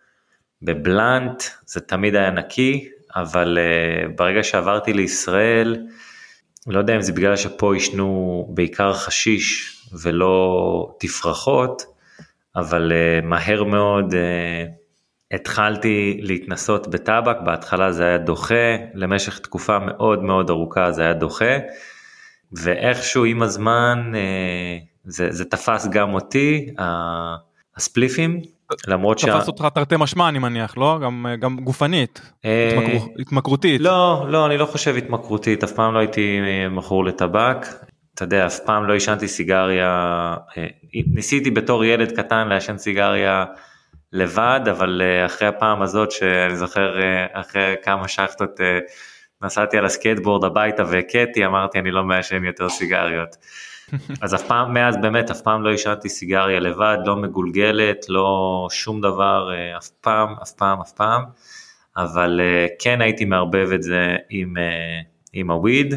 בבלנט, זה תמיד היה נקי, אבל ברגע שעברתי לישראל, לא יודע אם זה בגלל שפה ישנו בעיקר חשיש ולא תפרחות, אבל uh, מהר מאוד uh, התחלתי להתנסות בטבק, בהתחלה זה היה דוחה, למשך תקופה מאוד מאוד ארוכה זה היה דוחה, ואיכשהו עם הזמן uh, זה, זה תפס גם אותי, uh, הספליפים, למרות שה... תפס אותך תרתי משמע אני מניח, לא? גם, גם גופנית, uh, התמקר... התמקרותית. לא, לא, אני לא חושב התמקרותית, אף פעם לא הייתי מכור לטבק, אתה יודע, אף פעם לא ישנתי סיגריה, ניסיתי בתור ילד קטן לעשן סיגריה לבד, אבל אחרי הפעם הזאת שאני זוכר, אחרי כמה שחטות נסעתי על הסקייטבורד הביתה והקטי, אמרתי אני לא מעשן יותר סיגריות. אז אף פעם, מאז באמת, אף פעם לא ישנתי סיגריה לבד, לא מגולגלת, לא שום דבר, אף פעם, אף פעם, אף פעם, אבל כן הייתי מערבב את זה עם, עם הוויד,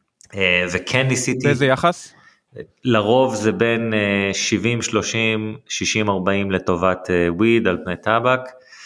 וכן ניסיתי... באיזה יחס? לרוב זה בין שבעים שלושים, שישים ארבעים לטובת וויד על פני טבק,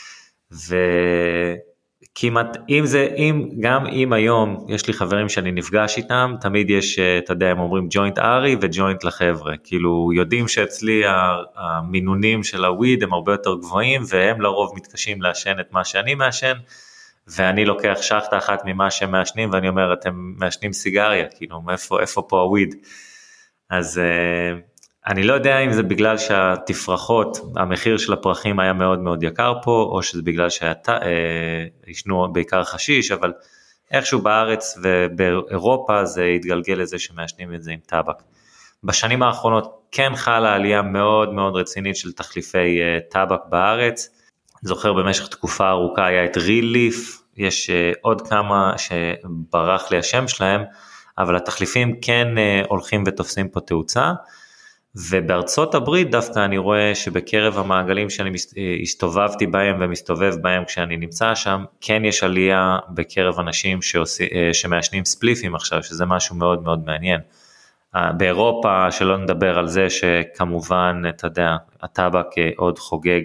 וכמעט, אם זה, אם, גם אם היום יש לי חברים שאני נפגש איתם, תמיד יש, אתה יודע, הם אומרים ג'וינט ארי וג'וינט לחבר'ה, כאילו יודעים שאצלי המינונים של הוויד הם הרבה יותר גבוהים, והם לרוב מתקשים לעשן את מה שאני מעשן, ואני לוקח שחטה אחת ממה שהם מעשנים, ואני אומר, אתם מעשנים סיגריה, כאילו, איפה, איפה פה הוויד? אז אני לא יודע אם זה בגלל שהתפרחות, המחיר של הפרחים היה מאוד מאוד יקר פה, או שזה בגלל שישנו בעיקר חשיש, אבל איכשהו בארץ ובאירופה זה התגלגל לזה שמעשנים את זה עם טבק. בשנים האחרונות כן חלה עלייה מאוד מאוד רצינית של תחליפי טבק בארץ, זוכר במשך תקופה ארוכה היה את ריל ליף, יש עוד כמה שברח לי השם שלהם, אבל התחליפים כן הולכים ותופסים פה תאוצה, ובארצות הברית דווקא אני רואה שבקרב המעגלים שאני הסתובבתי בהם ומסתובב בהם כשאני נמצא שם, כן יש עלייה בקרב אנשים שעושים, שמעשנים ספליפים עכשיו, שזה משהו מאוד מאוד מעניין. באירופה שלא נדבר על זה שכמובן, אתה יודע, הטבק עוד חוגג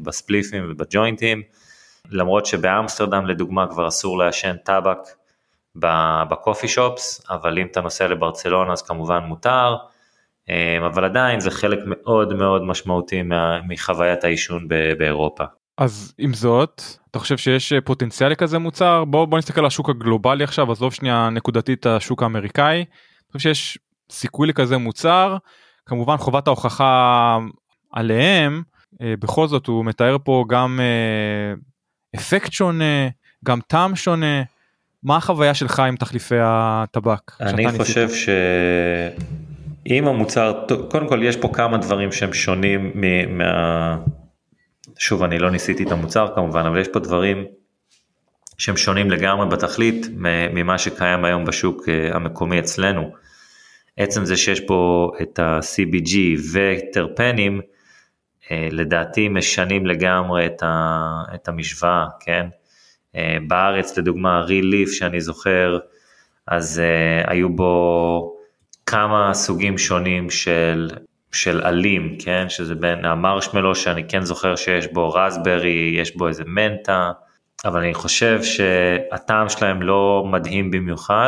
בספליפים ובג'וינטים, למרות שבאמסטרדם לדוגמה כבר אסור לעשן טבק בקופי שופס, אבל אם אתה נוסע לברצלונה אז כמובן מותר, אבל עדיין זה חלק מאוד מאוד משמעותי מחוויית העישון באירופה. אז עם זאת, אתה חושב שיש פוטנציאל לכזה מוצר? בוא, בוא נסתכל על השוק הגלובלי עכשיו, עזוב שנייה נקודתית השוק האמריקאי, אני חושב שיש סיכוי לכזה מוצר, כמובן חובת ההוכחה עליהם, בכל זאת הוא מתאר פה גם אפקט שונה, גם טעם שונה, מה החוויה שלך עם תחליפי הטבק? אני חושב שאם המוצר, קודם כל יש פה כמה דברים שהם שונים מה... שוב, אני לא ניסיתי את המוצר כמובן, אבל יש פה דברים שהם שונים לגמרי בתכלית ממה שקיים היום בשוק המקומי אצלנו. עצם זה שיש פה את ה-סי בי ג'י וטרפנים, לדעתי משנים לגמרי את, ה, את המשוואה, כן? בארץ לדוגמה ריליף שאני זוכר, אז uh, היו בו כמה סוגים שונים של, של עלים, כן? שזה בין המרשמלו שאני כן זוכר שיש בו רסברי, יש בו איזה מנטה, אבל אני חושב שהטעם שלהם לא מדהים במיוחד,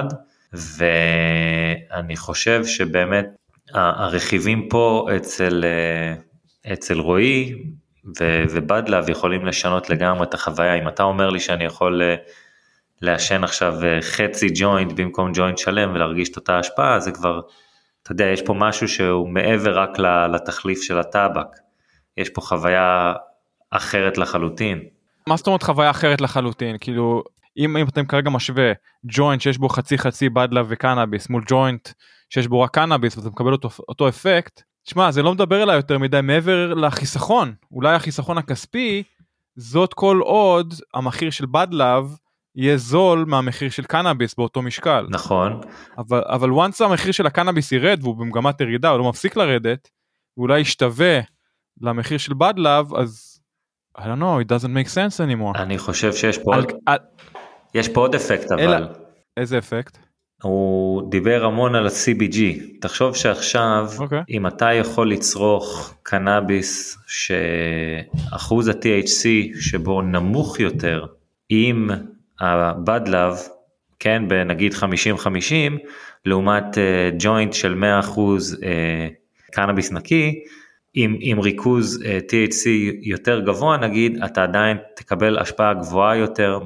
ואני חושב שבאמת הרכיבים פה אצל, אצל רועי ו- ובדלב יכולים לשנות לגמרי את החוויה. אם אתה אומר לי שאני יכול לעשן עכשיו חצי ג'וינט במקום ג'וינט שלם ולהרגיש את אותה השפעה, זה כבר, אתה יודע, יש פה משהו שהוא מעבר רק לתחליף של הטבק, יש פה חוויה אחרת לחלוטין. מה זאת אומרת חוויה אחרת לחלוטין? כאילו, אם, אם אתם כרגע משווה ג'וינט שיש בו חצי חצי בדלב וקנאביס, מול ג'וינט שיש בו רק קנאביס, ואתה מקבל אותו, אותו אפקט, תשמע, זה לא מדבר אליי יותר מדי מעבר לחיסכון, אולי החיסכון הכספי, זאת כל עוד המחיר של בדלב יהיה זול מהמחיר של קנאביס באותו משקל. נכון. אבל, אבל once המחיר של הקנאביס ירד, והוא במגמת ירידה, הוא לא מפסיק לרדת, ואולי ישתווה למחיר של בדלב, אז I don't know, it doesn't make sense anymore. אני חושב שיש פה, על, עוד, על... יש פה עוד אפקט, אבל... אלא, איזה אפקט? הוא דיבר המון על ה-סי בי ג'י, תחשוב שעכשיו, okay. אם אתה יכול לצרוך קנאביס, שאחוז ה-טי אייץ' סי שבו נמוך יותר, עם הבדלב, כן, בנגיד חמישים חמישים, לעומת uh, ג'וינט של מאה אחוז uh, קנאביס נקי, עם, עם ריכוז uh, טי אייץ' סי יותר גבוה, נגיד, אתה עדיין תקבל השפעה גבוהה יותר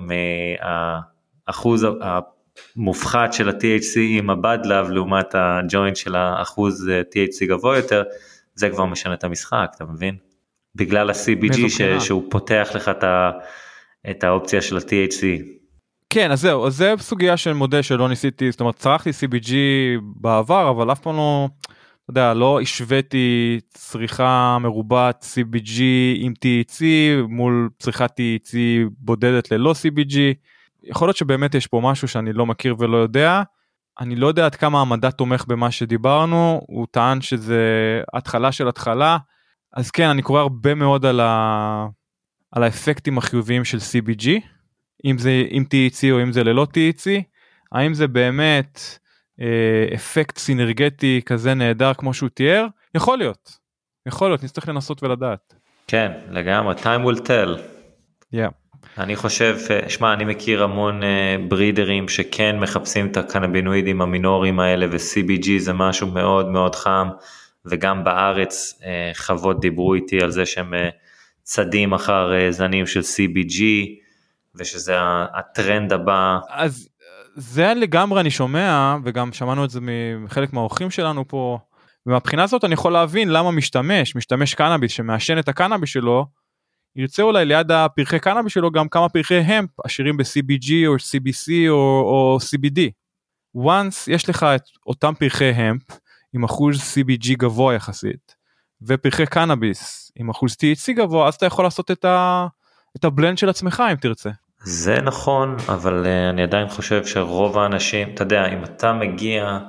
מהאחוז המופחת של ה-טי אייץ' סי עם הבדלב, לעומת הג'וינט של האחוז טי אייץ' סי גבוה יותר, זה כבר משנה את המשחק, אתה מבין? בגלל ה-סי בי ג'י ש, שהוא פותח לך את, ה, את האופציה של ה-טי אייץ' סי. כן, אז זהו, אז זה סוגיה של מודל שלא ניסיתי, זאת אומרת, צרכתי סי בי ג'י בעבר, אבל אף פעם לא... אתה יודע, לא השוויתי צריכה מרובת סי בי ג'י עם טי אייץ' סי מול צריכת טי אייץ' סי בודדת ללא סי בי ג'י. יכול להיות שבאמת יש פה משהו שאני לא מכיר ולא יודע. אני לא יודע עד כמה המדע תומך במה שדיברנו, הוא טען שזה התחלה של התחלה. אז כן, אני קורא הרבה מאוד על, ה... על האפקטים החיוביים של סי בי ג'י, אם זה עם טי אייץ' סי או אם זה ללא טי אייץ' סי. האם זה באמת... אפקט סינרגטי כזה נהדר כמו שהוא תיאר, יכול להיות, יכול להיות, נצטרך לנסות ולדעת. כן, לגמרי, time will tell. Yeah. אני חושב, שמע, אני מכיר המון ברידרים שכן מחפשים את הקנבינואידים המינוריים האלה, ו-סי בי ג'י זה משהו מאוד מאוד חם, וגם בארץ חוות דיברו איתי על זה שהם צדים אחר זנים של סי בי ג'י, ושזה הטרנד הבא. אז זה לגמרי אני שומע, וגם שמענו את זה מחלק מהאורחים שלנו פה, ומבחינה הזאת אני יכול להבין למה משתמש, משתמש קנאביס שמעשן את הקנאביס שלו, ירצה אולי ליד הפרחי קנאביס שלו גם כמה פרחי המפ, עשירים ב-סי בי ג'י או סי בי סי או, או סי בי די. once יש לך את אותם פרחי המפ, עם אחוז סי בי ג'י גבוה יחסית, ופרחי קנאביס עם אחוז טי אייץ' סי גבוה, אז אתה יכול לעשות את, ה, את הבלנד של עצמך אם תרצה. זה נכון, אבל uh, אני עדיין חושב שרוב האנשים, אתה יודע, אם אתה מגיע,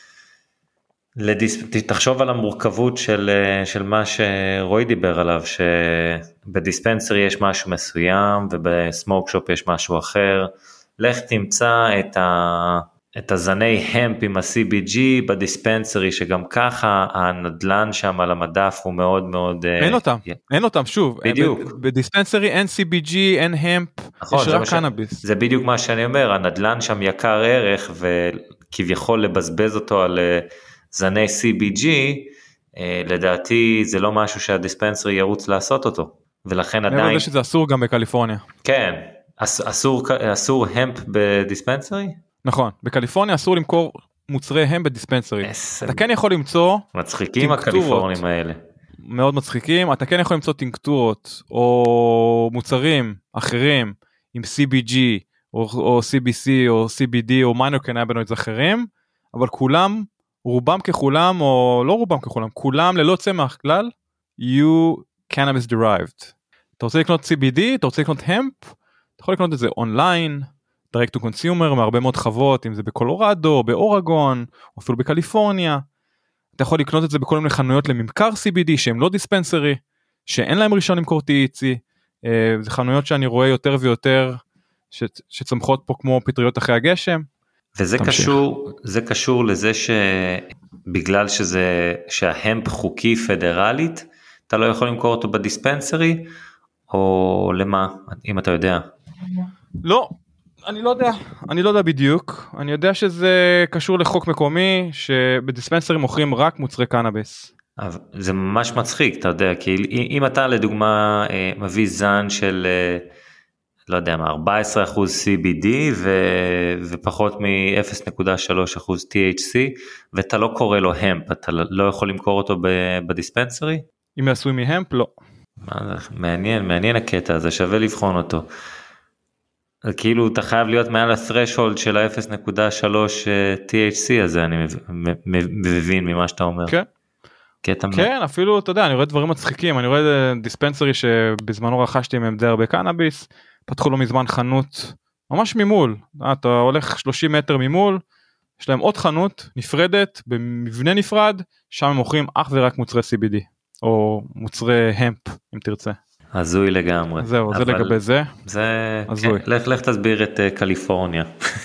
לדיס... תחשוב על המורכבות של, uh, של מה שרועי דיבר עליו, שבדיספנסרי יש משהו מסוים, ובסמוק שופ יש משהו אחר, לך תמצא את, ה... את הזני המפ עם ה-סי בי ג'י בדיספנסרי, שגם ככה הנדלן שם על המדף הוא מאוד מאוד... אין אותם, אין אותם, שוב. בדיוק. בדיספנסרי אין סי בי ג'י, אין המפ, יש רק קנאביס. זה בדיוק מה שאני אומר, הנדלן שם יקר ערך, וכביכול לבזבז אותו על זני סי בי ג'י, לדעתי זה לא משהו שהדיספנסרי ירוץ לעשות אותו, ולכן עדיין... אני יודע שזה אסור גם בקליפורניה. כן, אסור, אסור המפ בדיספנסרי? נכון, בקליפורניה אסור למכור מוצרי המפ בדיספנסרי. אתה כן יכול למצוא... מצחיקים הקליפורנים האלה. מאוד מצחיקים, אתה כן יכול למצוא טינקטורות, או מוצרים אחרים, עם סי בי ג'י, או, או סי בי סי, או סי בי די, או מיינור קנאבינואידס אחרים, אבל כולם, רובם ככולם, או לא רובם ככולם, כולם ללא צמח מהכלל, יהיו cannabis derived. אתה רוצה לקנות סי בי די, אתה רוצה לקנות המפ, אתה יכול לקנות את זה אונליין, direct to consumer, מהרבה מאוד חוות, אם זה בקולורדו, באורגון, או אפילו בקליפורניה. אתה יכול לקנות את זה בכל מיני חנויות לממכר סי בי די, שהם לא דיספנסרי, שאין להם רישיון למכור טי אייץ' סי. זה חנויות שאני רואה יותר ויותר, ש, שצמחות פה כמו פטריות אחרי הגשם. וזה קשור, זה קשור לזה שבגלל שזה, שההמפ חוקי פדרלית, אתה לא יכול למכור אותו בדיספנסרי, או למה, אם אתה יודע? לא, אני לא יודע, אני לא יודע בדיוק, אני יודע שזה קשור לחוק מקומי, שבדיספנסרים מוכרים רק מוצרי קנאביס. זה ממש מצחיק, אתה יודע, כי אם אתה לדוגמה מביא זן של, לא יודע מה, ארבעה עשר אחוז סי בי די ו, ופחות מ-אפס נקודה שלוש אחוז טי אייץ' סי, ואתה לא קורא לו המפ, אתה לא יכול למכור אותו בדיספנסרי? אם יעשוי מהמפ, לא. מעניין, מעניין הקטע הזה, שווה לבחון אותו. כאילו אתה חייב להיות מעל ה-threshold של ה-אפס נקודה שלוש טי אייץ' סי הזה, אני מבין ממה שאתה אומר. כן, כן, אפילו, אתה יודע, אני רואה דברים מצחיקים, אני רואה דיספנסרי שבזמנו רכשתי מהם די הרבה קנאביס, פתחו לו מזמן חנות, ממש ממול, אתה הולך שלושים מטר ממול, יש להם עוד חנות נפרדת, במבנה נפרד, שם הם מוכרים אך ורק מוצרי סי בי די, או מוצרי המפ, אם תרצה. הזוי לגמרי. זהו, זה לגבי זה. זה, הזוי. לך, לך תסביר את קליפורניה.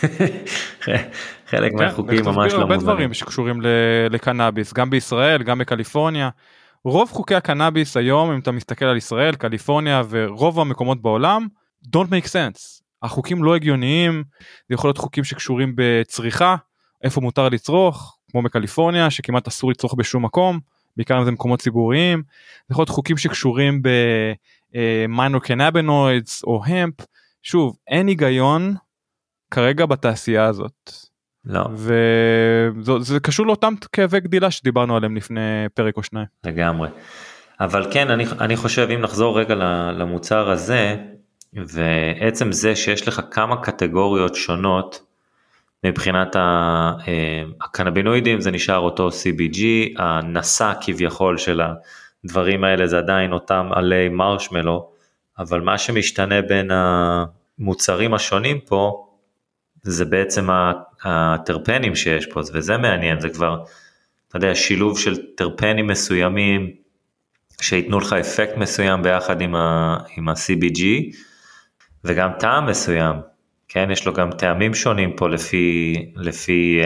חלק מהחוקים ממש לא מובנים. תסביר הרבה דברים שקשורים לקנאביס, גם בישראל, גם בקליפורניה. רוב חוקי הקנאביס היום, אם אתה מסתכל על ישראל, קליפורניה ורוב המקומות בעולם, don't make sense. החוקים לא הגיוניים, זה יכול להיות חוקים שקשורים בצריכה, איפה מותר לצרוך, כמו בקליפורניה, שכמעט אסור לצרוך בשום מקום, בעיקר אם זה מקומות ציבוריים, זה יכול להיות חוקים שקשורים ב-minor cannabinoids או המפ, שוב, אין היגיון כרגע בתעשייה הזאת. לא. וזה קשור לאותם כאבי גדילה שדיברנו עליהם לפני פרק או שניים. לגמרי. אבל כן, אני, אני חושב, אם נחזור רגע למוצר הזה, ועצם זה שיש לך כמה קטגוריות שונות, מבחינת הקנבינואידים זה נשאר אותו סי בי ג'י, הנשא כביכול של הדברים האלה זה עדיין אותם עלי מרשמלו, אבל מה שמשתנה בין המוצרים השונים פה, זה בעצם הטרפנים שיש פה, וזה מעניין, זה כבר, אתה יודע, שילוב של טרפנים מסוימים, שיתנו לך אפקט מסוים ביחד עם ה-סי בי ג'י, וגם טעם מסוים, כן, יש לו גם טעמים שונים פה לפי, לפי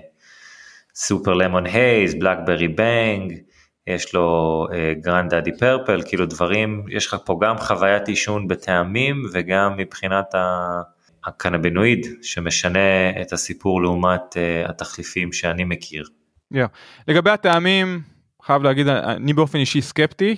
סופר למון הייז, בלאקברי בנג, יש לו גרנד דאדי פרפל, כאילו דברים, יש לך פה גם חוויית עישון בטעמים, וגם מבחינת הקנבינואיד, שמשנה את הסיפור לעומת התחליפים שאני מכיר. Yeah. לגבי הטעמים, חייב להגיד, אני באופן אישי סקפטי,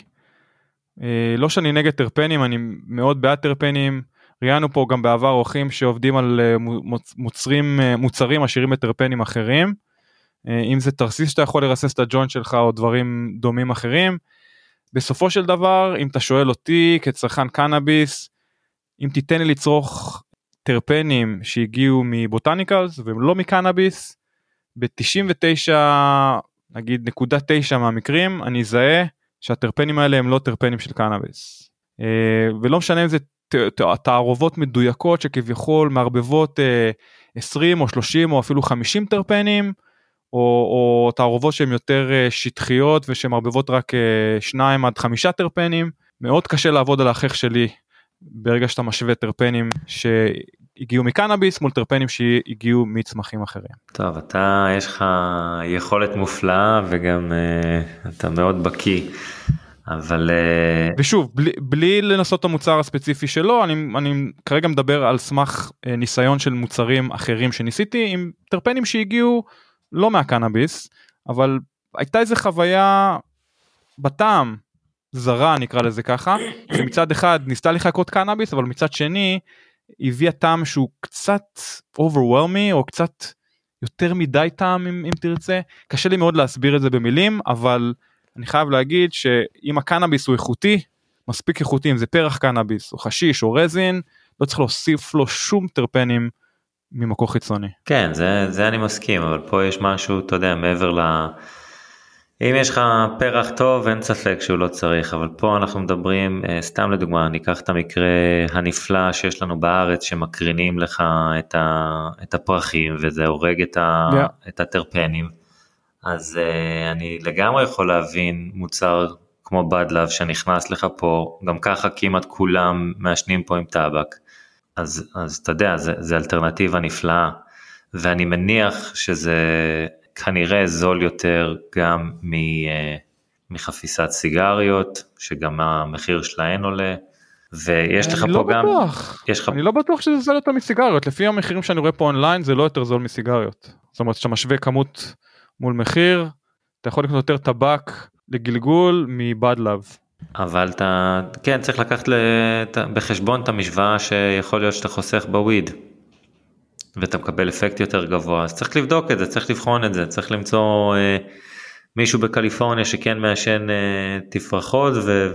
לא שאני נגד טרפנים, אני מאוד בעד טרפנים, ראינו פה גם בעבר אורחים שעובדים על מוצרים, מוצרים עשירים בטרפנים אחרים, אם זה תרסיס שאתה יכול לרסס את הג'וינט שלך או דברים דומים אחרים, בסופו של דבר, אם אתה שואל אותי כצרכן קנאביס, אם תיתן לי לצרוך טרפנים שהגיעו מבוטניקלס ולא מקנאביס, ב-תשעים ותשע נגיד נקודה תשע מהמקרים, אני אזהה שהטרפנים האלה הם לא טרפנים של קנאביס, ולא משנה אם זה תערובות מדויקות שכביכול מערבבות עשרים או שלושים או אפילו חמישים טרפנים, או, או תערובות שהן יותר שטחיות ושהן מערבבות רק שניים עד חמישה טרפנים, מאוד קשה לעבוד על ההכרח שלי, ברגע שאתה משווה טרפנים שהגיעו מקנאביס, מול טרפנים שהגיעו מצמחים אחרים. טוב, אתה, יש לך יכולת מופלאה, וגם uh, אתה מאוד בקיא, אבל... Uh... ושוב, בלי, בלי לנסות את המוצר הספציפי שלו, אני, אני כרגע מדבר על סמך uh, ניסיון של מוצרים אחרים שניסיתי, עם טרפנים שהגיעו לא מהקנאביס, אבל הייתה איזו חוויה בטעם, זרה נקרא לזה ככה, שמצד אחד ניסתה לחכות קנאביס, אבל מצד שני הביאה טעם שהוא קצת overwhelming, או קצת יותר מדי טעם אם, אם תרצה, קשה לי מאוד להסביר את זה במילים, אבל אני חייב להגיד שאם הקנאביס הוא איכותי, מספיק איכותי, אם זה פרח קנאביס, או חשיש, או רזין, לא צריך להוסיף לו שום טרפנים ממקור חיצוני. כן, זה, זה אני מסכים, אבל פה יש משהו, אתה יודע, מעבר ל... אם יש לך פרח טוב, אין ספק שהוא לא צריך, אבל פה אנחנו מדברים, סתם לדוגמה, ניקח את המקרה הנפלא שיש לנו בארץ, שמקרינים לך את, ה, את הפרחים, וזה הורג את, ה, yeah. את הטרפנים, אז uh, אני לגמרי יכול להבין מוצר כמו בדלב, שנכנס לך פה, גם ככה כמעט כולם מעשנים פה עם טבק, אז, אז אתה יודע, זה, זה אלטרנטיבה נפלאה, ואני מניח שזה... כנראה זול יותר גם מחפיסת סיגריות, שגם המחיר שלהן עולה, ויש לך פה גם... אני לא בטוח שזה זול יותר מסיגריות, לפי המחירים שאני רואה פה אונליין, זה לא יותר זול מסיגריות. זאת אומרת, שאתה משווה כמות מול מחיר, אתה יכול לקנות יותר טבק לגלגול מבדלב. אבל אתה, כן, צריך לקחת בחשבון את המשוואה שיכול להיות שאתה חוסך בוויד. ואתה מקבל אפקט יותר גבוה, אז צריך לבדוק את זה, צריך לבחון את זה, צריך למצוא אה, מישהו בקליפורניה שכן מעשן אה, תפרחות,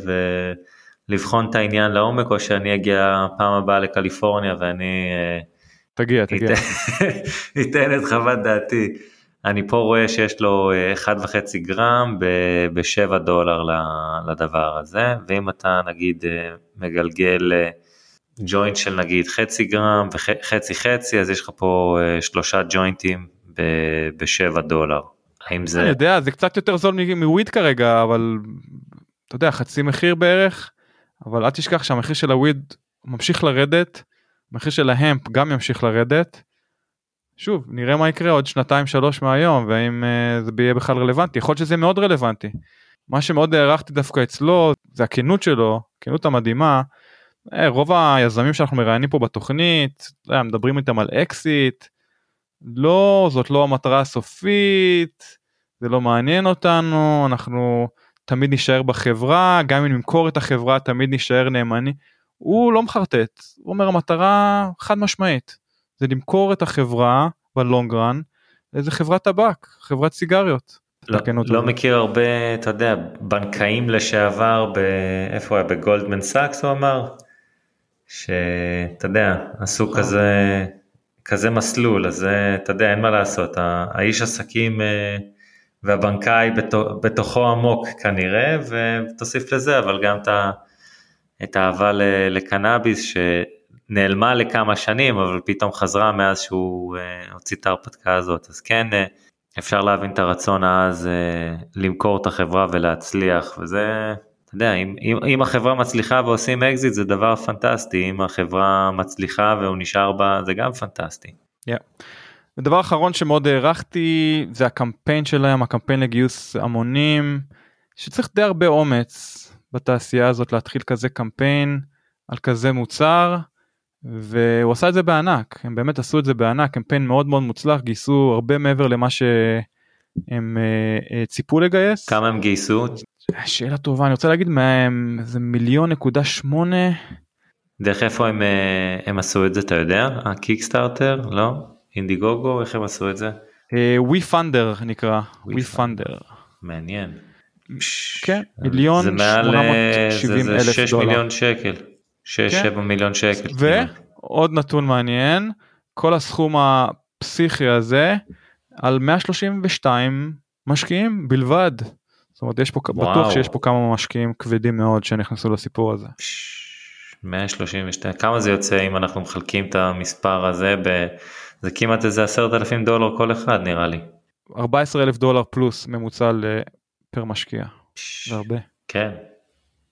ולבחון את העניין לעומק, או שאני אגיע פעם הבאה לקליפורניה, ואני... אה, תגיע, תגיע. ייתן את חוות דעתי. אני פה רואה שיש לו אחד וחצי גרם, בשבע דולר לדבר הזה, ואם אתה נגיד מגלגל... ג'וינט של נגיד חצי גרם וחצי חצי, אז יש לך פה שלושה ג'וינטים בשבע דולר. האם זה... אני יודע, זה קצת יותר זול מוויד כרגע, אבל אתה יודע, חצי מחיר בערך, אבל אל תשכח שהמחיר של הוויד ממשיך לרדת, המחיר של ההמפ גם ימשיך לרדת. שוב, נראה מה יקרה עוד שנתיים שלוש מהיום, והאם זה יהיה בכלל רלוונטי, יכול להיות שזה מאוד רלוונטי. מה שמאוד הערכתי דווקא אצלו, זה הכנות שלו, הכנות המדהימה, רוב היזמים שאנחנו מראיינים פה בתוכנית, מדברים איתם על אקסיט, לא, זאת לא המטרה הסופית, זה לא מעניין אותנו, אנחנו תמיד נשאר בחברה, גם אם נמכור את החברה, תמיד נשאר נאמני, הוא לא מחרטט, הוא אומר המטרה חד משמעית, זה למכור את החברה בלונגרן, איזה חברת טבק, חברת סיגריות. לא, לא מכיר הרבה, אתה יודע, בנקאים לשעבר, איפה היה, בגולדמן סאקס הוא אמר? שאתה יודע, עשו כזה, כזה מסלול, אז אתה יודע, אין מה לעשות, האיש עסקים והבנקאי בתוכו עמוק כנראה, ותוסיף לזה, אבל גם את האהבה לקנאביס, שנעלמה לכמה שנים, אבל פתאום חזרה מאז שהוא הוציא את ההרפתקה הזאת, אז כן, אפשר להבין את הרצון אז למכור את החברה ולהצליח, וזה... אתה יודע, אם, אם, אם החברה מצליחה ועושים אקזיט, זה דבר פנטסטי, אם החברה מצליחה והוא נשאר בה, זה גם פנטסטי. Yeah. ודבר אחרון שמאוד הערכתי, זה הקמפיין שלהם, הקמפיין לגיוס המונים, שצריך די הרבה אומץ בתעשייה הזאת, להתחיל כזה קמפיין, על כזה מוצר, והוא עשה את זה בענק, הם באמת עשו את זה בענק, קמפיין מאוד מאוד מוצלח, גייסו הרבה מעבר למה שהם ציפו לגייס. כמה הם גייסו? שאלה טובה, אני רוצה להגיד מהם, זה מיליון נקודה שמונה. דרך איפה הם, הם עשו את זה, אתה יודע? הקיקסטארטר, לא? אינדיגוגו, איך הם עשו את זה? WeFunder נקרא, WeFunder. מעניין. כן, מיליון שמונה מאות שבעים אלף דולר. זה שש מיליון שקל, שש שבע מיליון שקל. ועוד נתון מעניין, כל הסכום הפסיכי הזה, על מאה שלושים ושתיים משקיעים בלבד. זאת אומרת, יש פה, בטוח שיש פה כמה משקיעים כבדים מאוד שנכנסו לסיפור הזה. מאה שלושים ושתיים, כמה זה יוצא אם אנחנו מחלקים את המספר הזה, ב... זה כמעט איזה עשרת אלפים דולר כל אחד נראה לי. ארבעה עשר אלף דולר פלוס ממוצע פר משקיע, זה הרבה. כן,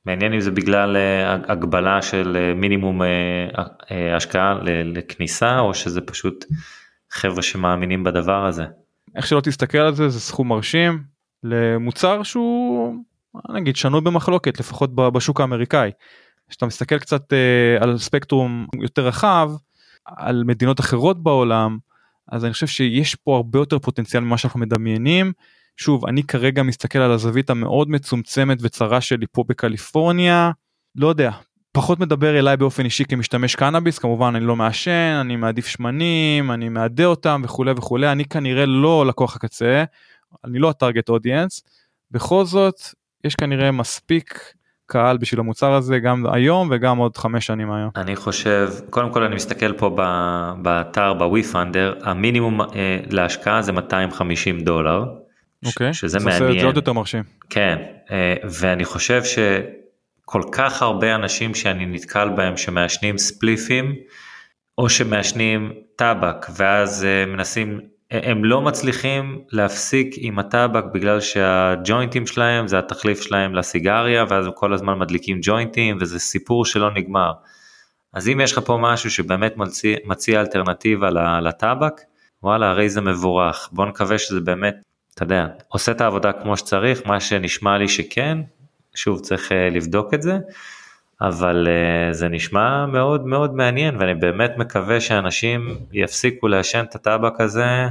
מעניין אם זה בגלל הגבלה של מינימום השקעה לכניסה, או שזה פשוט חבר'ה שמאמינים בדבר הזה. איך שלא תסתכל על זה, זה סכום מרשים למוצר שהוא, נגיד, שנוי במחלוקת, לפחות בשוק האמריקאי. כשאתה מסתכל קצת על ספקטרום יותר רחב, על מדינות אחרות בעולם, אז אני חושב שיש פה הרבה יותר פוטנציאל ממה שאנחנו מדמיינים. שוב, אני כרגע מסתכל על הזווית המאוד מצומצמת וצרה שלי פה בקליפורניה, לא יודע, פחות מדבר אליי באופן אישי כמשתמש קנאביס, כמובן אני לא מעשן, אני מעדיף שמנים, אני מעדה אותם וכו' וכו', אני כנראה לא לקוח הקצה, אני לא הטרגט אודיאנס, בכל זאת, יש כנראה מספיק קהל בשביל המוצר הזה, גם היום וגם עוד חמש שנים היום. אני חושב, קודם כל אני מסתכל פה באתר, בווי-פנדר, המינימום להשקעה זה מאתיים וחמישים דולר, אוקיי, שזה זה מעניין. זה עוד יותר מרשים. כן, ואני חושב שכל כך הרבה אנשים שאני נתקל בהם שמעשנים ספליפים, או שמעשנים טבק, ואז מנסים, הם לא מצליחים להפסיק עם הטבק, בגלל שהג'וינטים שלהם זה התחליף שלהם לסיגריה, ואז הם כל הזמן מדליקים ג'וינטים, וזה סיפור שלא נגמר. אז אם יש לך פה משהו שבאמת מציע, מציע אלטרנטיבה לטבק, וואלה, הרי זה מבורך. בוא נקווה שזה באמת, אתה יודע, עושה את העבודה כמו שצריך, מה שנשמע לי שכן, שוב צריך לבדוק את זה, אבל זה נשמע מאוד מאוד מעניין, ואני באמת מקווה שאנשים יפסיקו לעשן את הטבק הזה,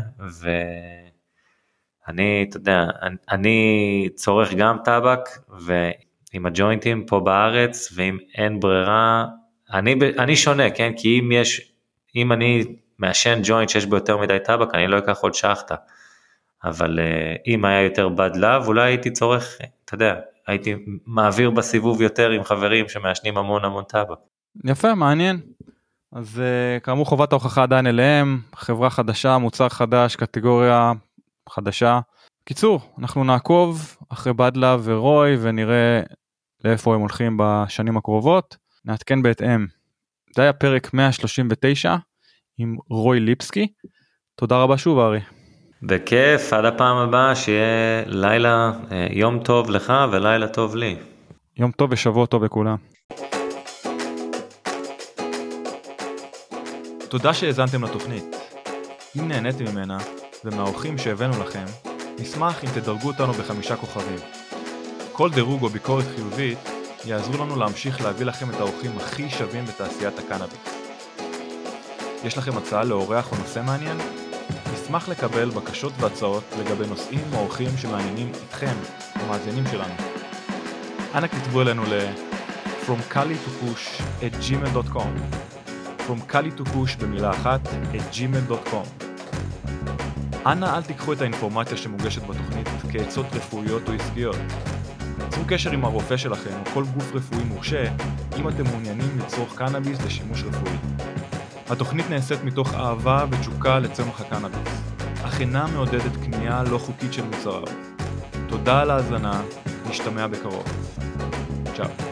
ואני, אתה יודע, אני צורך גם טבק, ועם הג'וינטים פה בארץ, ואם אין ברירה, אני, אני שונה, כן? כי אם יש, אם אני מעשן ג'וינט שיש בו יותר מדי טבק, אני לא אקח עוד שחטה, אבל אם היה יותר בד לב, אולי הייתי צורך, אתה יודע, הייתי מעביר בסיבוב יותר עם חברים שמעשנים המון המון טבק. יפה, מעניין. אז כאמור חובת ההוכחה עדיין אליהם, חברה חדשה, מוצר חדש, קטגוריה חדשה. קיצור, אנחנו נעקוב אחרי בדלה ורוי ונראה לאיפה הם הולכים בשנים הקרובות. נעדכן בהתאם. זה היה פרק מאה שלושים ותשע עם רוי ליפסקי. תודה רבה שוב ארי. בכיף, עד הפעם הבאה, שיהיה לילה, יום טוב לך ולילה טוב לי. יום טוב ושבוע טוב לכולם. תודה שהאזנתם לתוכנית. אם נהניתם ממנה ומהאורחים שהבאנו לכם, נשמח אם תדרגו אותנו בחמישה כוכבים. כל דירוג או ביקורת חיובית יעזרו לנו להמשיך להביא לכם את האורחים הכי שווים בתעשיית הקנאביס. יש לכם הצעה לאורח או נושא מעניין? נשמח לקבל בקשות והצעות לגבי נושאים או אורחים שמעניינים איתכם, המאזינים שלנו. אנא כתבו אלינו ל from kali to kush at gmail dot com from kali to kush במילה אחת at gmail dot com. אנא אל תיקחו את האינפורמציה שמוגשת בתוכנית כעצות רפואיות או עסקיות. צרו קשר עם הרופא שלכם או כל גוף רפואי מורשה אם אתם מעוניינים לצרוך קנאביס לשימוש רפואי. התוכנית נעשית מתוך אהבה ותשוקה לצמח הקנאביס, אך אינה מעודדת קנייה לא חוקית של מוצריו. תודה על ההאזנה, נשתמע בקרוב. צ'או.